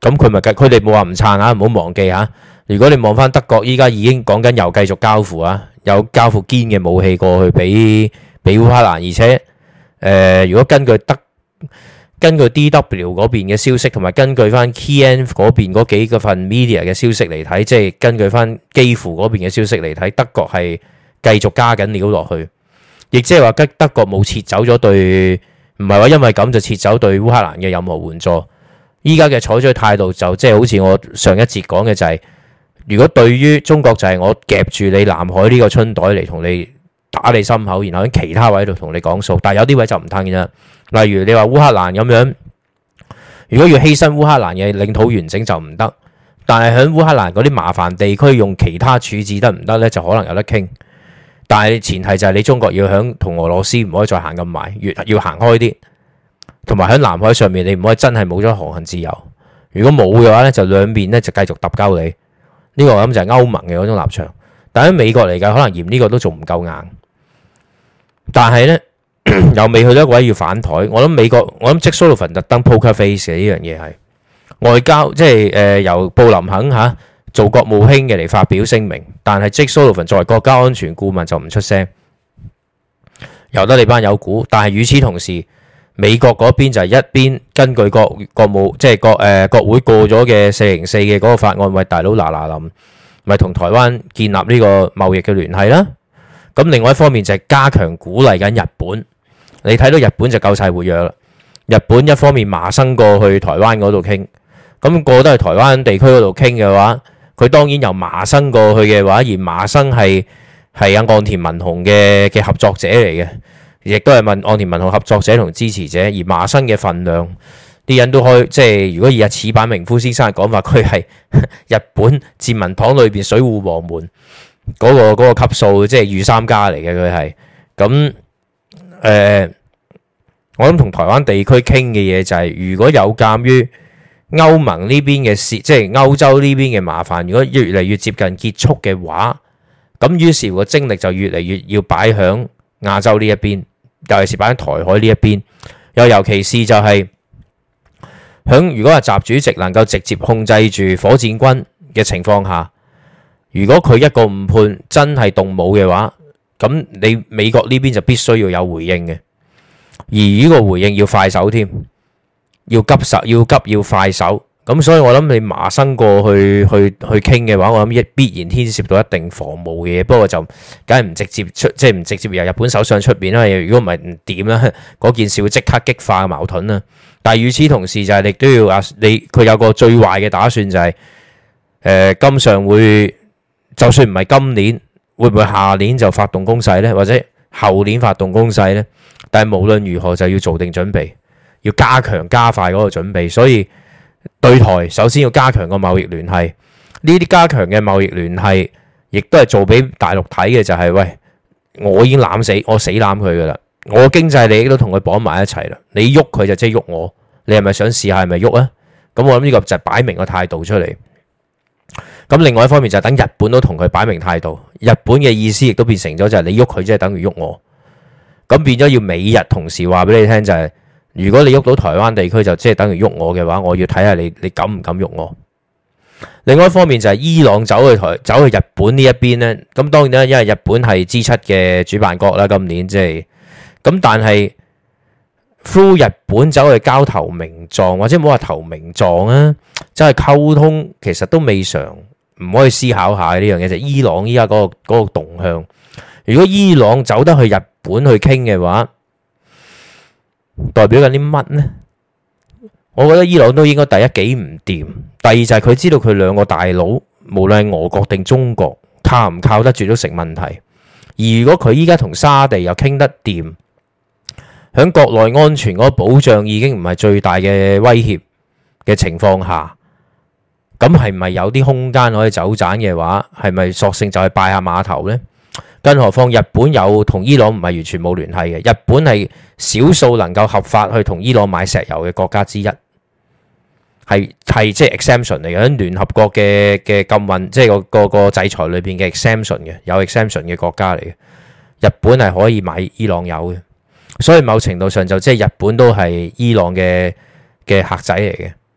咁佢咪計？佢哋冇話唔撐啊，唔好忘記嚇。如果你望翻德國，依家已經講緊又繼續交付啊，有交付堅嘅武器過去俾俾烏克蘭，而且誒、呃，如果根據德根據 D W 嗰邊嘅消息，同埋根據翻 Kiev 嗰邊嗰幾個份 media 嘅消息嚟睇，即係根據翻基輔嗰邊嘅消息嚟睇，德國係繼續加緊料落去，亦即係話德德國冇撤走咗對，唔係話因為咁就撤走對烏克蘭嘅任何援助。依家嘅採取態度就即係好似我上一節講嘅就係、是，如果對於中國就係我夾住你南海呢個春袋嚟同你打你心口，然後喺其他位度同你講數，但係有啲位就唔吞嘅啫。例如你話烏克蘭咁樣，如果要犧牲烏克蘭嘅領土完整就唔得，但係喺烏克蘭嗰啲麻煩地區用其他處置得唔得呢？就可能有得傾。但係前提就係你中國要響同俄羅斯唔可以再行咁埋，越要行開啲。同埋喺南海上面，你唔可以真係冇咗航行自由。如果冇嘅話咧，就兩邊咧就繼續揼鳩你。呢個我諗就係歐盟嘅嗰種立場。但喺美國嚟講，可能嫌呢個都仲唔夠硬。但係咧又未去到一個位要反台。我諗美國，我諗 Jake Sullivan 特登 poker face 嘅呢樣嘢係外交，即係誒、呃、由布林肯嚇、啊、做國務卿嘅嚟發表聲明，但係 Jake Sullivan 作為國家安全顧問就唔出聲，由得你班友估。但係與此同時，美國嗰邊就係一邊根據國國務即係國誒、呃、國會過咗嘅四零四嘅嗰個法案，喂大佬嗱嗱臨，咪同台灣建立呢個貿易嘅聯繫啦。咁另外一方面就係加強鼓勵緊日本。你睇到日本就夠晒活躍啦。日本一方面麻生過去台灣嗰度傾，咁過得去台灣地區嗰度傾嘅話，佢當然由麻生過去嘅話，而麻生係係阿岸田文雄嘅嘅合作者嚟嘅。亦都係問岸田文雄合作者同支持者，而麻生嘅份量，啲人都可以即係如果以阿矢板明夫先生嘅講法，佢係日本自民黨裏邊水戶黃門嗰、嗰個嗰、嗰個級數，即係御三家嚟嘅佢係。咁誒、呃，我諗同台灣地區傾嘅嘢就係、係，如果有鑑於歐盟呢邊嘅事，即係歐洲呢邊嘅麻煩，如果越嚟越接近結束嘅話，咁於是個精力就越嚟越要擺響亞洲呢一邊。尤其是擺喺台海呢一邊，又尤其是就係響如果話習主席能夠直接控制住火箭軍嘅情況下，如果佢一個誤判真係動武嘅話，咁你美國呢邊就必須要有回應嘅，而呢個回應要快手添，要急手要急要快手。咁所以我諗你麻生過去去去傾嘅話，我諗一必然牽涉到一定防務嘅嘢。不過就梗係唔直接出，即係唔直接由日本手上出面啦。如果唔係唔掂啦，嗰件事會即刻激化矛盾啦。但係與此同時就係你都要啊，你佢有個最壞嘅打算就係、是、誒、呃、今上會就算唔係今年，會唔會下年就發動攻勢呢？或者後年發動攻勢呢？但係無論如何就要做定準備，要加強加快嗰個準備，所以。對台首先要加強個貿易聯繫，呢啲加強嘅貿易聯繫，亦都係做俾大陸睇嘅，就係、是、喂，我已經攬死，我死攬佢噶啦，我經濟利益都同佢綁埋一齊啦，你喐佢就即係喐我，你係咪想試下係咪喐啊？咁我諗呢個就係擺明個態度出嚟。咁另外一方面就係等日本都同佢擺明態度，日本嘅意思亦都變成咗就係你喐佢即係等於喐我，咁變咗要美日同時話俾你聽就係、是。如果你喐到台灣地區，就即係等於喐我嘅話，我要睇下你你敢唔敢喐我。另外一方面就係伊朗走去台走去日本呢一邊呢，咁當然啦，因為日本係 G 七嘅主辦國啦，今年即係咁，但係 through 日本走去交投名狀，或者唔好話投名狀啊，即係溝通，其實都未嘗唔可以思考下呢樣嘢。就係、伊朗依家嗰個嗰個動向，如果伊朗走得去日本去傾嘅話，代表緊啲乜呢？我覺得伊朗都應該第一幾唔掂，第二就係佢知道佢兩個大佬，無論係俄國定中國，靠唔靠得住都成問題。而如果佢依家同沙地又傾得掂，喺國內安全嗰個保障已經唔係最大嘅威脅嘅情況下，咁係咪有啲空間可以走盞嘅話，係咪索性就係拜下碼頭呢？更何況日本有同伊朗唔係完全冇聯繫嘅，日本係少數能夠合法去同伊朗買石油嘅國家之一，係係即係 exemption 嚟嘅，喺聯合國嘅嘅禁運，即係個個個制裁裏邊嘅 exemption 嘅，有 exemption 嘅國家嚟嘅。日本係可以買伊朗油嘅，所以某程度上就即係日本都係伊朗嘅嘅客仔嚟嘅。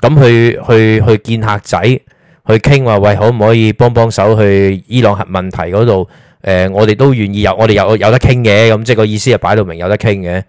咁去去去見客仔，去傾話喂，可唔可以幫幫手去伊朗核問題嗰度？誒、呃，我哋都願意有，我哋有有得傾嘅，咁即係個意思係擺到明有得傾嘅。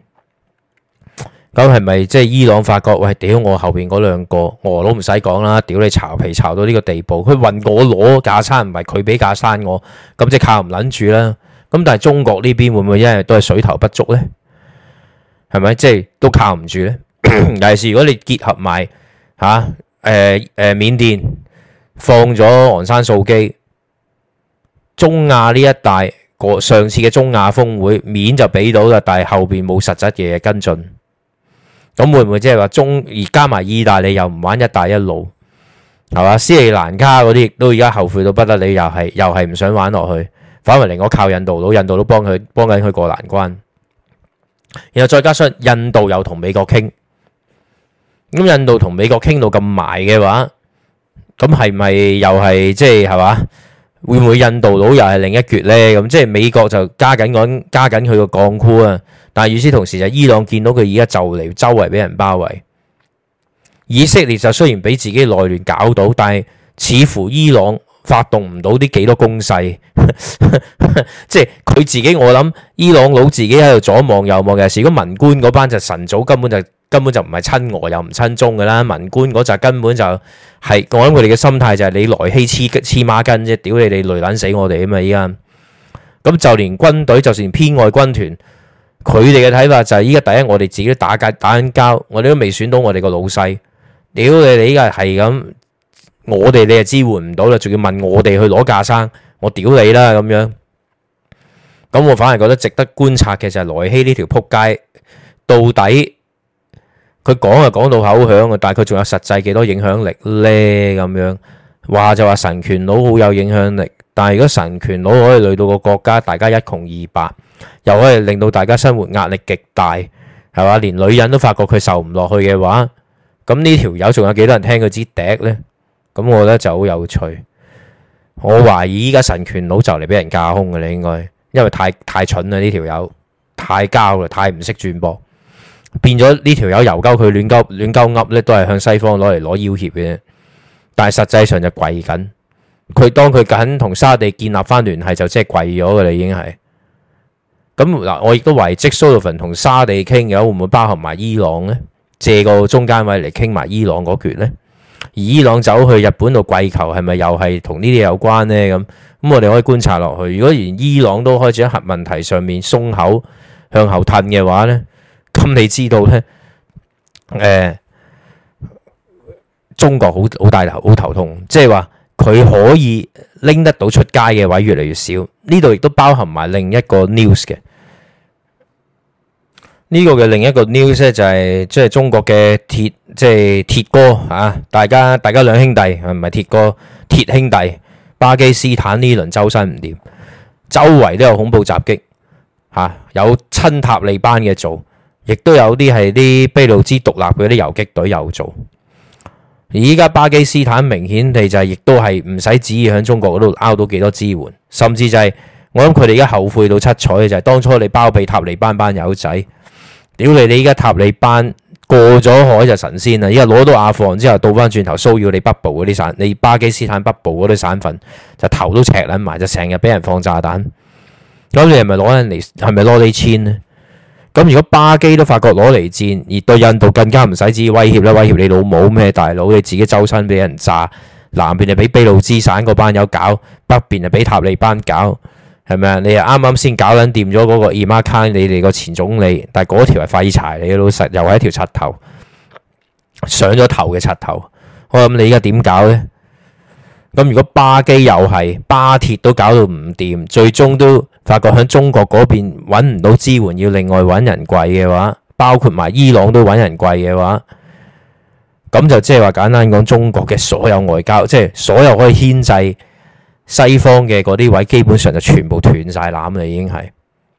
咁係咪即係伊朗發覺喂，屌我後邊嗰兩個俄佬唔使講啦，屌你巢皮巢到呢個地步，佢運我攞架生，唔係佢俾架生我，咁即係靠唔撚住啦。咁但係中國呢邊會唔會因為都係水頭不足呢？係咪即係都靠唔住呢？尤其是如果你結合埋嚇誒誒緬甸放咗昂山素姬，中亞呢一帶個上次嘅中亞峰會面就俾到啦，但係後邊冇實質嘅嘢跟進。咁會唔會即係話中而加埋意大利又唔玩一帶一路係嘛？斯里蘭卡嗰啲亦都而家後悔到不得了，又係又係唔想玩落去，反為令我靠印度佬，印度佬幫佢幫緊佢過難關。然後再加上印度又同美國傾，咁印度同美國傾到咁埋嘅話，咁係咪又係即係係嘛？會唔會印度佬又係另一橛呢？咁即係美國就加緊緊加緊佢個鋼箍啊！但係與此同時就伊朗見到佢而家就嚟周圍俾人包圍，以色列就雖然俾自己內亂搞到，但係似乎伊朗發動唔到啲幾多攻勢，即係佢自己我諗伊朗佬自己喺度左望右望嘅。如果文官嗰班就晨早根本就根本就唔係親俄又唔親中㗎啦，文官嗰陣根本就係我諗佢哋嘅心態就係你來希黐黐孖筋啫，屌你哋累撚死我哋啊嘛！依家咁就連軍隊就算偏愛軍團。佢哋嘅睇法就係依家第一，我哋自己都打緊打緊交，我哋都未選到我哋個老細。屌你哋依家係咁，我哋你又支援唔到啦，仲要問我哋去攞架生，我屌你啦咁樣。咁我反而覺得值得觀察嘅就係萊希呢條撲街，到底佢講就講到口響啊，但係佢仲有實際幾多影響力呢？咁樣話就話神權佬好有影響力，但係如果神權佬可以累到個國家大家一窮二白，又可以令到大家生活壓力極大，係嘛？連女人都發覺佢受唔落去嘅話，咁呢條友仲有幾多人聽佢支笛呢？咁我覺得就好有趣。我懷疑依家神權佬就嚟俾人架空嘅，你應該因為太太蠢啦，呢條友太膠啦，太唔識轉播，變咗呢條友由鳩佢亂鳩亂鳩噏咧，都係向西方攞嚟攞要挾嘅啫。但係實際上就跪緊，佢當佢緊同沙地建立翻聯繫，就即係跪咗嘅啦，已經係。咁嗱，我亦都懷疑即蘇魯芬同沙地傾嘅會唔會包含埋伊朗呢？借個中間位嚟傾埋伊朗嗰橛呢？而伊朗走去日本度跪求，係咪又係同呢啲有關呢？咁咁我哋可以觀察落去。如果連伊朗都開始喺核問題上面鬆口向後褪嘅話呢，咁你知道呢，誒、呃，中國好好大頭好頭痛，即係話佢可以拎得到出街嘅位越嚟越少。呢度亦都包含埋另一個 news 嘅。呢個嘅另一個 news 咧就係即係中國嘅鐵即係鐵哥啊！大家大家兩兄弟唔係鐵哥鐵兄弟，巴基斯坦呢輪周身唔掂，周圍都有恐怖襲擊嚇，有親塔利班嘅做，亦都有啲係啲俾路支獨立嗰啲遊擊隊有做。而依家巴基斯坦明顯地就係亦都係唔使旨意喺中國嗰度拗到幾多支援，甚至就係我諗佢哋而家後悔到七彩嘅就係當初你包庇塔利班班友仔。屌你！你依家塔利班過咗海就神仙啦！依家攞到阿富汗之後，倒翻轉頭騷擾你北部嗰啲省，你巴基斯坦北部嗰啲省份就頭都赤撚埋，就成日俾人放炸彈。咁你係咪攞人嚟？係咪攞你錢呢？咁如果巴基都發覺攞嚟戰，而對印度更加唔使旨意威脅啦，威脅你老母咩大佬？你自己周身俾人炸，南邊就俾俾路支省嗰班友搞，北邊就俾塔利班搞。係咪啊？你又啱啱先搞撚掂咗嗰個伊馬卡，你哋個前總理，但係嗰條係廢柴嚟嘅，老實又係一條柒頭上咗頭嘅柒頭。我諗你而家點搞呢？咁如果巴基又係巴鐵都搞到唔掂，最終都發覺喺中國嗰邊揾唔到支援，要另外揾人跪嘅話，包括埋伊朗都揾人跪嘅話，咁就即係話簡單講，中國嘅所有外交，即係所有可以牽制西方嘅嗰啲位，基本上就全部斷晒纜啦，已經係。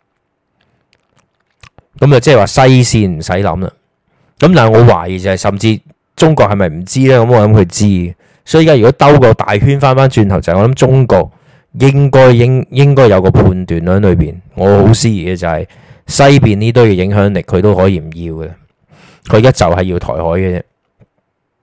咁就即係話西線唔使諗啦。咁但係我懷疑就係，甚至中國係咪唔知呢？咁我諗佢知。所以而家如果兜個大圈翻翻轉頭，就係我諗中國應該應應該有個判斷喺裏邊。我好思疑嘅就係西邊呢堆嘅影響力，佢都可以唔要嘅。佢而家就係要台海嘅啫。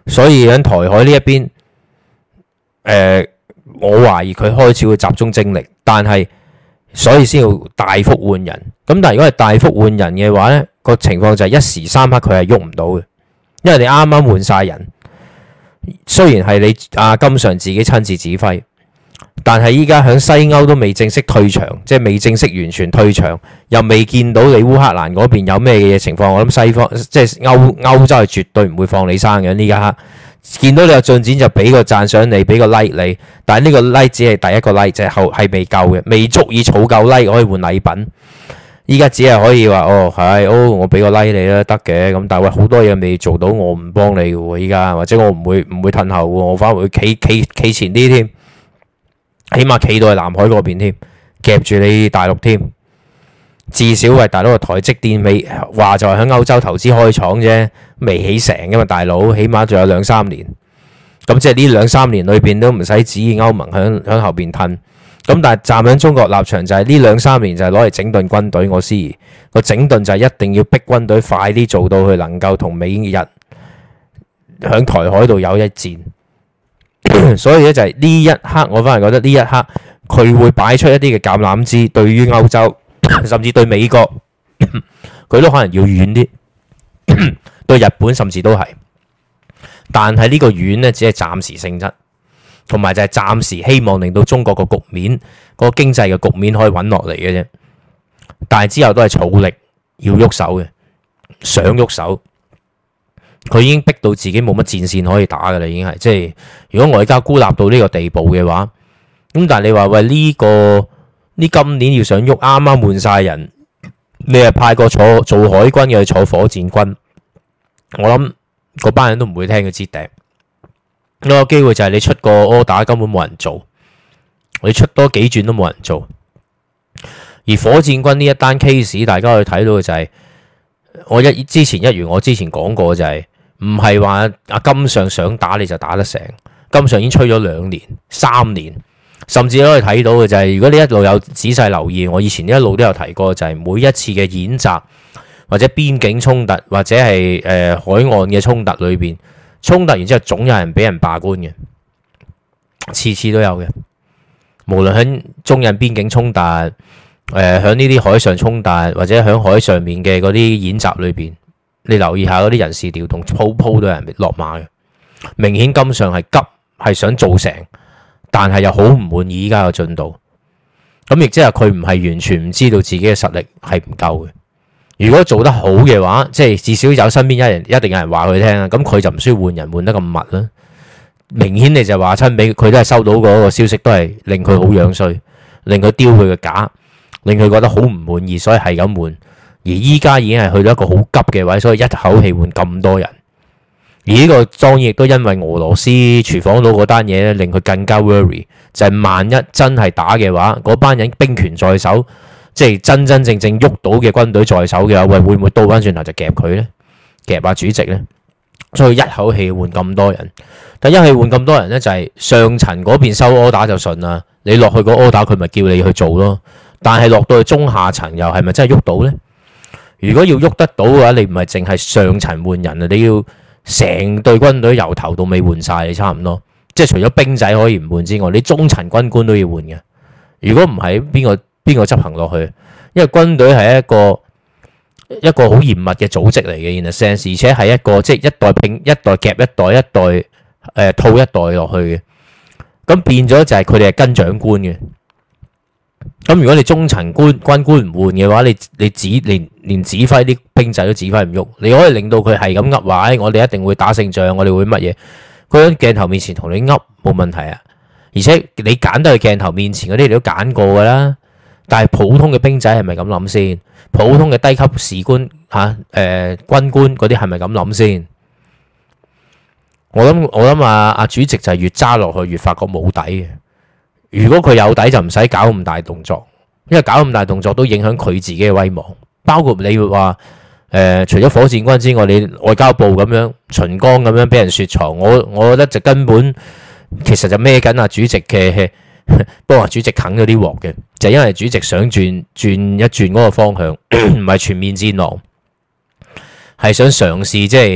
所以喺台海呢一邊，誒、呃，我懷疑佢開始會集中精力，但係所以先要大幅換人。咁但係如果係大幅換人嘅話呢，個情況就係一時三刻佢係喐唔到嘅，因為你啱啱換晒人，雖然係你阿金常自己親自指揮，但係依家喺西歐都未正式退場，即係未正式完全退場，又未見到你烏克蘭嗰邊有咩嘅情況。我諗西方即係歐歐洲係絕對唔會放你生嘅。呢家刻見到你有進展就俾個讚賞你，俾個 like 你，但係呢個 like 只係第一個 like，就係後係未夠嘅，未足以儲夠 like 可以換禮品。依家只係可以話哦係哦，我俾個 like 你啦，得嘅。咁但係喂，好多嘢未做到，我唔幫你嘅喎。依家或者我唔會唔會褪後喎，我反而會企企企前啲添。起碼企到去南海嗰邊添，夾住你大陸添。至少喂大佬個台積電未話就係喺歐洲投資開廠啫，未起成㗎嘛，大佬起碼仲有兩三年。咁即係呢兩三年裏邊都唔使指意歐盟響響後邊褪。咁但係站喺中國立場就係呢兩三年就係攞嚟整頓軍隊。我思疑個整頓就係一定要逼軍隊快啲做到佢能夠同美日響台海度有一戰。所以咧就係呢一刻，我反而覺得呢一刻佢會擺出一啲嘅橄欖枝，對於歐洲甚至對美國，佢都可能要軟啲，對日本甚至都係。但係呢個軟呢，只係暫時性質，同埋就係暫時希望令到中國個局面、個經濟嘅局面可以穩落嚟嘅啫。但係之後都係儲力要喐手嘅，想喐手。佢已經逼到自己冇乜戰線可以打㗎啦，已經係即係如果外交孤立到呢個地步嘅話，咁但係你話喂呢個呢今年要想喐，啱啱換晒人，你係派個坐做海軍嘅去坐火箭軍，我諗嗰班人都唔會聽佢支笛。嗰個機會就係你出個 order 根本冇人做，你出多幾轉都冇人做。而火箭軍呢一單 case， 大家可以睇到嘅就係我一之前一如我之前講過就係。唔係話阿金上想打你就打得成，金上已經吹咗兩年、三年，甚至可以睇到嘅就係，如果你一路有仔細留意，我以前一路都有提過，就係每一次嘅演習或者邊境衝突或者係誒、呃、海岸嘅衝突裏邊，衝突完之後總有人俾人罷官嘅，次次都有嘅。無論喺中印邊境衝突，誒喺呢啲海上衝突或者喺海上面嘅嗰啲演習裏邊。你留意下嗰啲人事調動，鋪鋪都有人落馬嘅，明顯金上係急，係想做成，但係又好唔滿意依家嘅進度。咁亦即係佢唔係完全唔知道自己嘅實力係唔夠嘅。如果做得好嘅話，即係至少有身邊一人一定有人話佢聽啊。咁佢就唔需要換人換得咁密啦。明顯你就話親俾佢都係收到嗰個消息，都係令佢好樣衰，令佢丟佢嘅架，令佢覺得好唔滿意，所以係咁換。而依家已經係去到一個好急嘅位，所以一口氣換咁多人。而呢個當然亦都因為俄羅斯廚房佬嗰單嘢咧，令佢更加 worry。就係萬一真係打嘅話，嗰班人兵權在手，即係真真正正喐到嘅軍隊在手嘅話，喂會唔會倒翻轉頭就夾佢呢？夾下主席呢？所以一口氣換咁多人，但一氣換咁多人呢，就係上層嗰邊收 order 就順啦。你落去個 order 佢咪叫你去做咯。但係落到去中下層又係咪真係喐到呢？如果要喐得到嘅話，你唔係淨係上層換人啊，你要成隊軍隊由頭到尾換晒，你差唔多。即係除咗兵仔可以唔換之外，你中層軍官都要換嘅。如果唔係，邊個邊個執行落去？因為軍隊係一個一個好嚴密嘅組織嚟嘅，in a sense，而且係一個即係一代拼一代夾一代，一代誒套一代落去嘅。咁變咗就係佢哋係跟長官嘅。咁如果你中層官軍官唔換嘅話，你你指連連指揮啲兵仔都指揮唔喐，你可以令到佢係咁噏話，我哋一定會打勝仗，我哋會乜嘢？佢喺鏡頭面前同你噏冇問題啊，而且你揀得去鏡頭面前嗰啲，你都揀過噶啦。但係普通嘅兵仔係咪咁諗先？普通嘅低級士官吓誒、啊呃、軍官嗰啲係咪咁諗先？我諗我諗啊啊主席就係越揸落去越發覺冇底嘅。如果佢有底就唔使搞咁大動作，因為搞咁大動作都影響佢自己嘅威望。包括你會話誒，除咗火箭軍之外，你外交部咁樣秦剛咁樣俾人雪藏，我我覺得就根本其實就孭緊啊主席嘅，不過主席啃咗啲鑊嘅，就因為主席想轉轉一轉嗰個方向，唔係全面戰狼，係想嘗試即係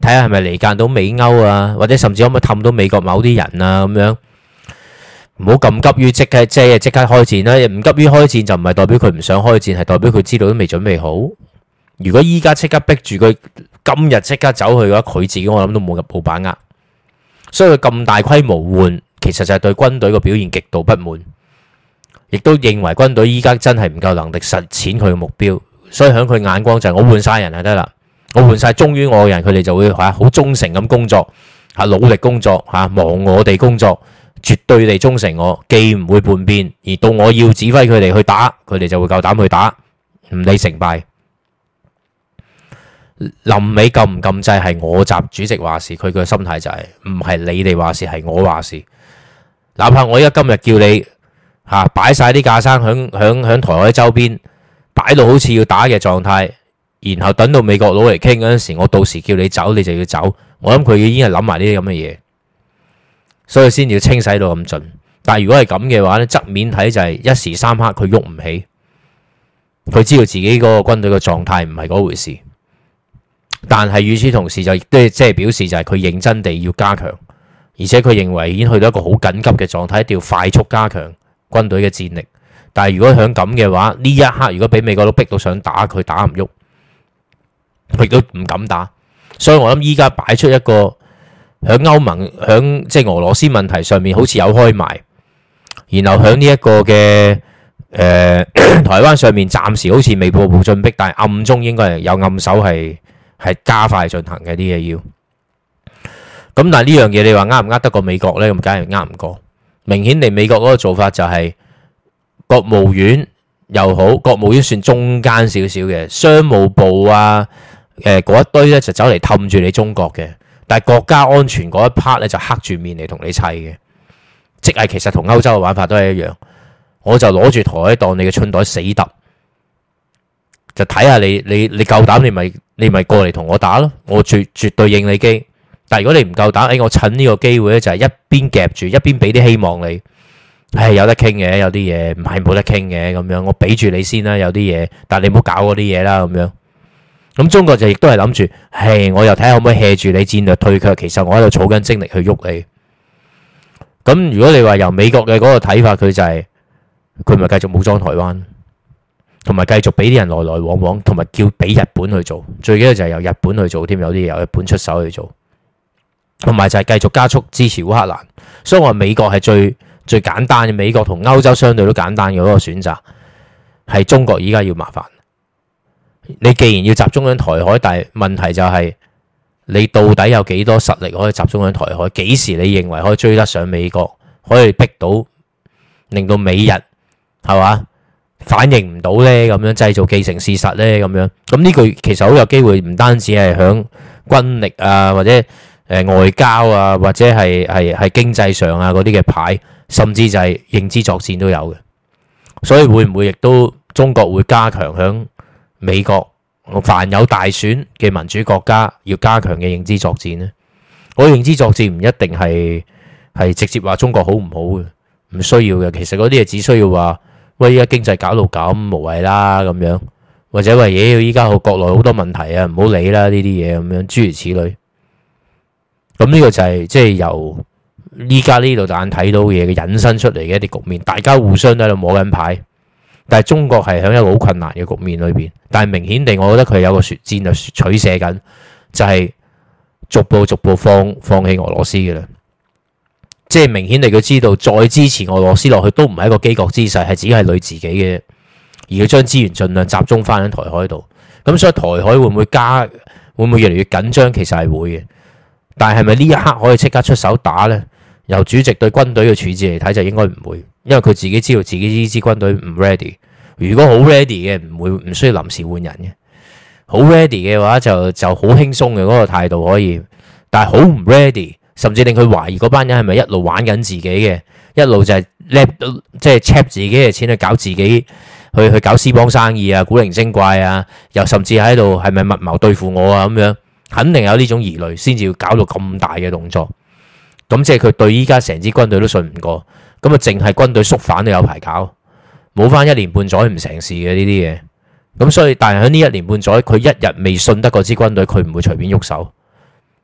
睇下係咪離間到美歐啊，或者甚至可唔可以氹到美國某啲人啊咁樣。唔好咁急於即刻即係即刻開戰啦，唔急於開戰就唔係代表佢唔想開戰，係代表佢知道都未準備好。如果依家即刻逼住佢今日即刻走去嘅話，佢自己我諗都冇冇把握。所以佢咁大規模換，其實就係對軍隊個表現極度不滿，亦都認為軍隊依家真係唔夠能力實踐佢嘅目標。所以喺佢眼光就係我換晒人就得啦，我換晒忠於我嘅人，佢哋就會嚇好忠誠咁工作，嚇努力工作，嚇忙我哋工作。絕對地忠誠我，既唔會叛變，而到我要指揮佢哋去打，佢哋就會夠膽去打，唔理成敗。臨尾撳唔撳掣係我習主席話事，佢嘅心態就係唔係你哋話事，係我話事。哪怕我而家今日叫你嚇擺晒啲架生響響響台海周邊，擺到好似要打嘅狀態，然後等到美國佬嚟傾嗰陣時，我到時叫你走，你就要走。我諗佢已經係諗埋呢啲咁嘅嘢。所以先要清洗到咁盡，但係如果係咁嘅話咧，側面睇就係一時三刻佢喐唔起，佢知道自己嗰個軍隊嘅狀態唔係嗰回事。但係與此同時就亦都即係表示就係佢認真地要加強，而且佢認為已經去到一個好緊急嘅狀態，一定要快速加強軍隊嘅戰力。但係如果響咁嘅話，呢一刻如果俾美國都逼到想打，佢打唔喐，佢亦都唔敢打。所以我諗依家擺出一個。喺歐盟喺即係俄羅斯問題上面好似有開埋，然後喺呢一個嘅誒、呃、台灣上面暫時好似未步步進逼，但係暗中應該係有暗手係係加快進行嘅啲嘢要。咁但係呢樣嘢你話呃唔呃得過美國呢？咁梗係呃唔過。明顯地美國嗰個做法就係國務院又好，國務院算中間少少嘅，商務部啊誒嗰、呃、一堆咧就走嚟氹住你中國嘅。但係國家安全嗰一 part 咧就黑住面嚟同你砌嘅，即係其實同歐洲嘅玩法都係一樣。我就攞住台海當你嘅春袋死揼，就睇下你你你夠膽你咪你咪過嚟同我打咯，我絕絕對應你機。但係如果你唔夠膽，誒我趁呢個機會咧就係一邊夾住一邊俾啲希望你，係有得傾嘅，有啲嘢唔係冇得傾嘅咁樣，我俾住你先啦，有啲嘢，但係你唔好搞嗰啲嘢啦咁樣。咁中國就亦都係諗住，係我又睇下可唔可以 hea 住你戰略退卻，其實我喺度儲緊精力去喐你。咁如果你話由美國嘅嗰個睇法，佢就係佢咪繼續武裝台灣，同埋繼續俾啲人來來往往，同埋叫俾日本去做，最緊要就係由日本去做添，有啲嘢由日本出手去做，同埋就係繼續加速支持烏克蘭。所以我話美國係最最簡單嘅，美國同歐洲相對都簡單嘅嗰個選擇，係中國依家要麻煩。你既然要集中喺台海，但係問題就係你到底有幾多實力可以集中喺台海？幾時你認為可以追得上美國，可以逼到令到美日係嘛反應唔到呢？咁樣製造既成事實呢？咁樣咁呢句其實好有機會，唔單止係響軍力啊，或者誒外交啊，或者係係係經濟上啊嗰啲嘅牌，甚至就係認知作戰都有嘅。所以會唔會亦都中國會加強響美國凡有大選嘅民主國家要加強嘅認知作戰呢？我認知作戰唔一定係係直接話中國好唔好嘅，唔需要嘅。其實嗰啲嘢只需要話喂，依家經濟搞到咁無謂啦咁樣，或者話嘢依家國內好多問題啊，唔好理啦呢啲嘢咁樣，諸如此類。咁呢個就係即係由依家呢度眼睇到嘢嘅引申出嚟嘅一啲局面，大家互相都喺度摸緊牌。但係中國係喺一個好困難嘅局面裏邊，但係明顯地，我覺得佢有個戰略取捨緊，就係、是、逐步逐步放放棄俄羅斯嘅啦。即係明顯地，佢知道再支持俄羅斯落去都唔係一個機角姿勢，係只係累自己嘅，而佢將資源盡量集中翻喺台海度。咁所以台海會唔會加，會唔會越嚟越緊張？其實係會嘅，但係係咪呢一刻可以即刻出手打呢？由主席對軍隊嘅處置嚟睇，就應該唔會，因為佢自己知道自己呢支軍隊唔 ready。如果好 ready 嘅，唔會唔需要臨時換人嘅。好 ready 嘅話就，就就好輕鬆嘅嗰個態度可以。但係好唔 ready，甚至令佢懷疑嗰班人係咪一路玩緊自己嘅，一路就係叻即係 cheap 自己嘅錢去搞自己，去去搞私幫生意啊，古靈精怪啊，又甚至喺度係咪密謀對付我啊咁樣，肯定有呢種疑慮，先至要搞到咁大嘅動作。咁即係佢對依家成支軍隊都信唔過，咁啊淨係軍隊縮反都有排搞，冇翻一年半載唔成事嘅呢啲嘢。咁所以，但係喺呢一年半載，佢一日未信得嗰支軍隊，佢唔會隨便喐手。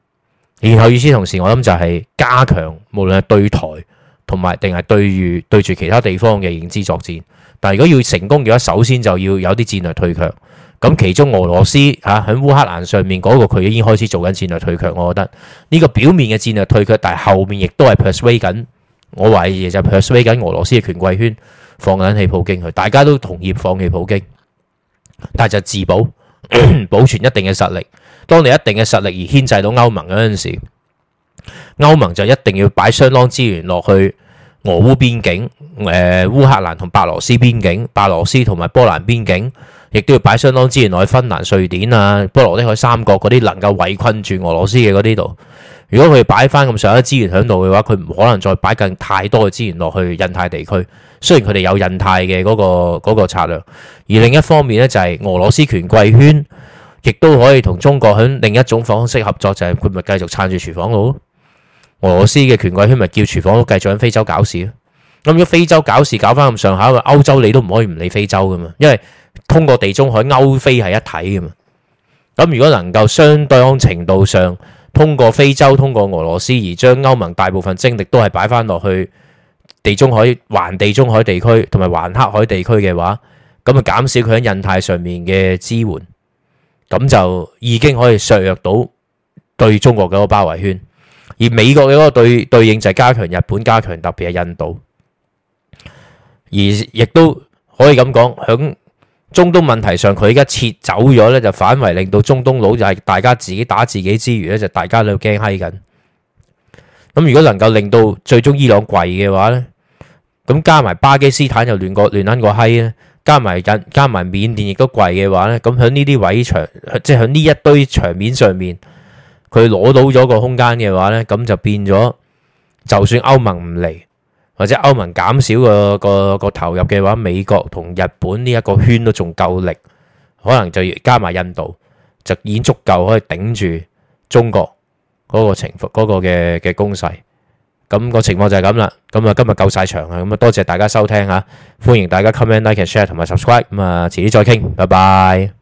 然後與此同時，我諗就係加強無論係對台同埋定係對住對住其他地方嘅認知作戰。但係如果要成功嘅話，首先就要有啲戰略退卻。咁其中俄羅斯嚇喺烏克蘭上面嗰個佢已經開始做緊戰略退卻，我覺得呢個表面嘅戰略退卻，但係後面亦都係 persuade 緊，我懷疑就 persuade 緊俄羅斯嘅權貴圈放緊棄普京去，大家都同意放棄普京，但係就自保保存一定嘅實力。當你一定嘅實力而牽制到歐盟嗰陣時，歐盟就一定要擺相當資源落去俄烏邊境，誒、呃、烏克蘭同白羅斯邊境，白羅斯同埋波蘭邊境。亦都要擺相當資源落去芬蘭、瑞典啊、波羅的海三國嗰啲能夠圍困住俄羅斯嘅嗰啲度。如果佢擺翻咁上下資源喺度嘅話，佢唔可能再擺更太多嘅資源落去印太地區。雖然佢哋有印太嘅嗰個嗰個策略，而另一方面呢，就係俄羅斯權貴圈亦都可以同中國喺另一種方式合作，就係佢咪繼續撐住廚房佬咯。俄羅斯嘅權貴圈咪叫廚房佬繼續喺非洲搞事咯。咁如果非洲搞事搞翻咁上下，歐洲你都唔可以唔理非洲噶嘛，因為通過地中海歐非係一體嘅嘛，咁如果能夠相當程度上通過非洲、通過俄羅斯而將歐盟大部分精力都係擺翻落去地中海、環地中海地區同埋環黑海地區嘅話，咁啊減少佢喺印太上面嘅支援，咁就已經可以削弱到對中國嘅嗰個包圍圈。而美國嘅嗰個對對應就係加強日本、加強特別係印度，而亦都可以咁講響中東問題上，佢而家撤走咗咧，就反為令到中東佬就係大家自己打自己之餘咧，就大家都驚閪緊。咁如果能夠令到最終伊朗跪嘅話咧，咁加埋巴基斯坦又亂過亂撚個閪咧，加埋印加埋緬甸亦都跪嘅話咧，咁喺呢啲位場，即係喺呢一堆場面上面，佢攞到咗個空間嘅話咧，咁就變咗，就算歐盟唔嚟，或者歐盟減少個個個投入嘅話，美國同日本呢一個圈都仲夠力，可能就加埋印度，就已經足夠可以頂住中國嗰個情況嗰個嘅嘅攻勢。咁個情況就係咁啦。咁啊，今日夠晒場啊。咁啊，多謝大家收聽嚇，歡迎大家 comment、like、share 同埋 subscribe。咁啊，遲啲再傾，拜拜。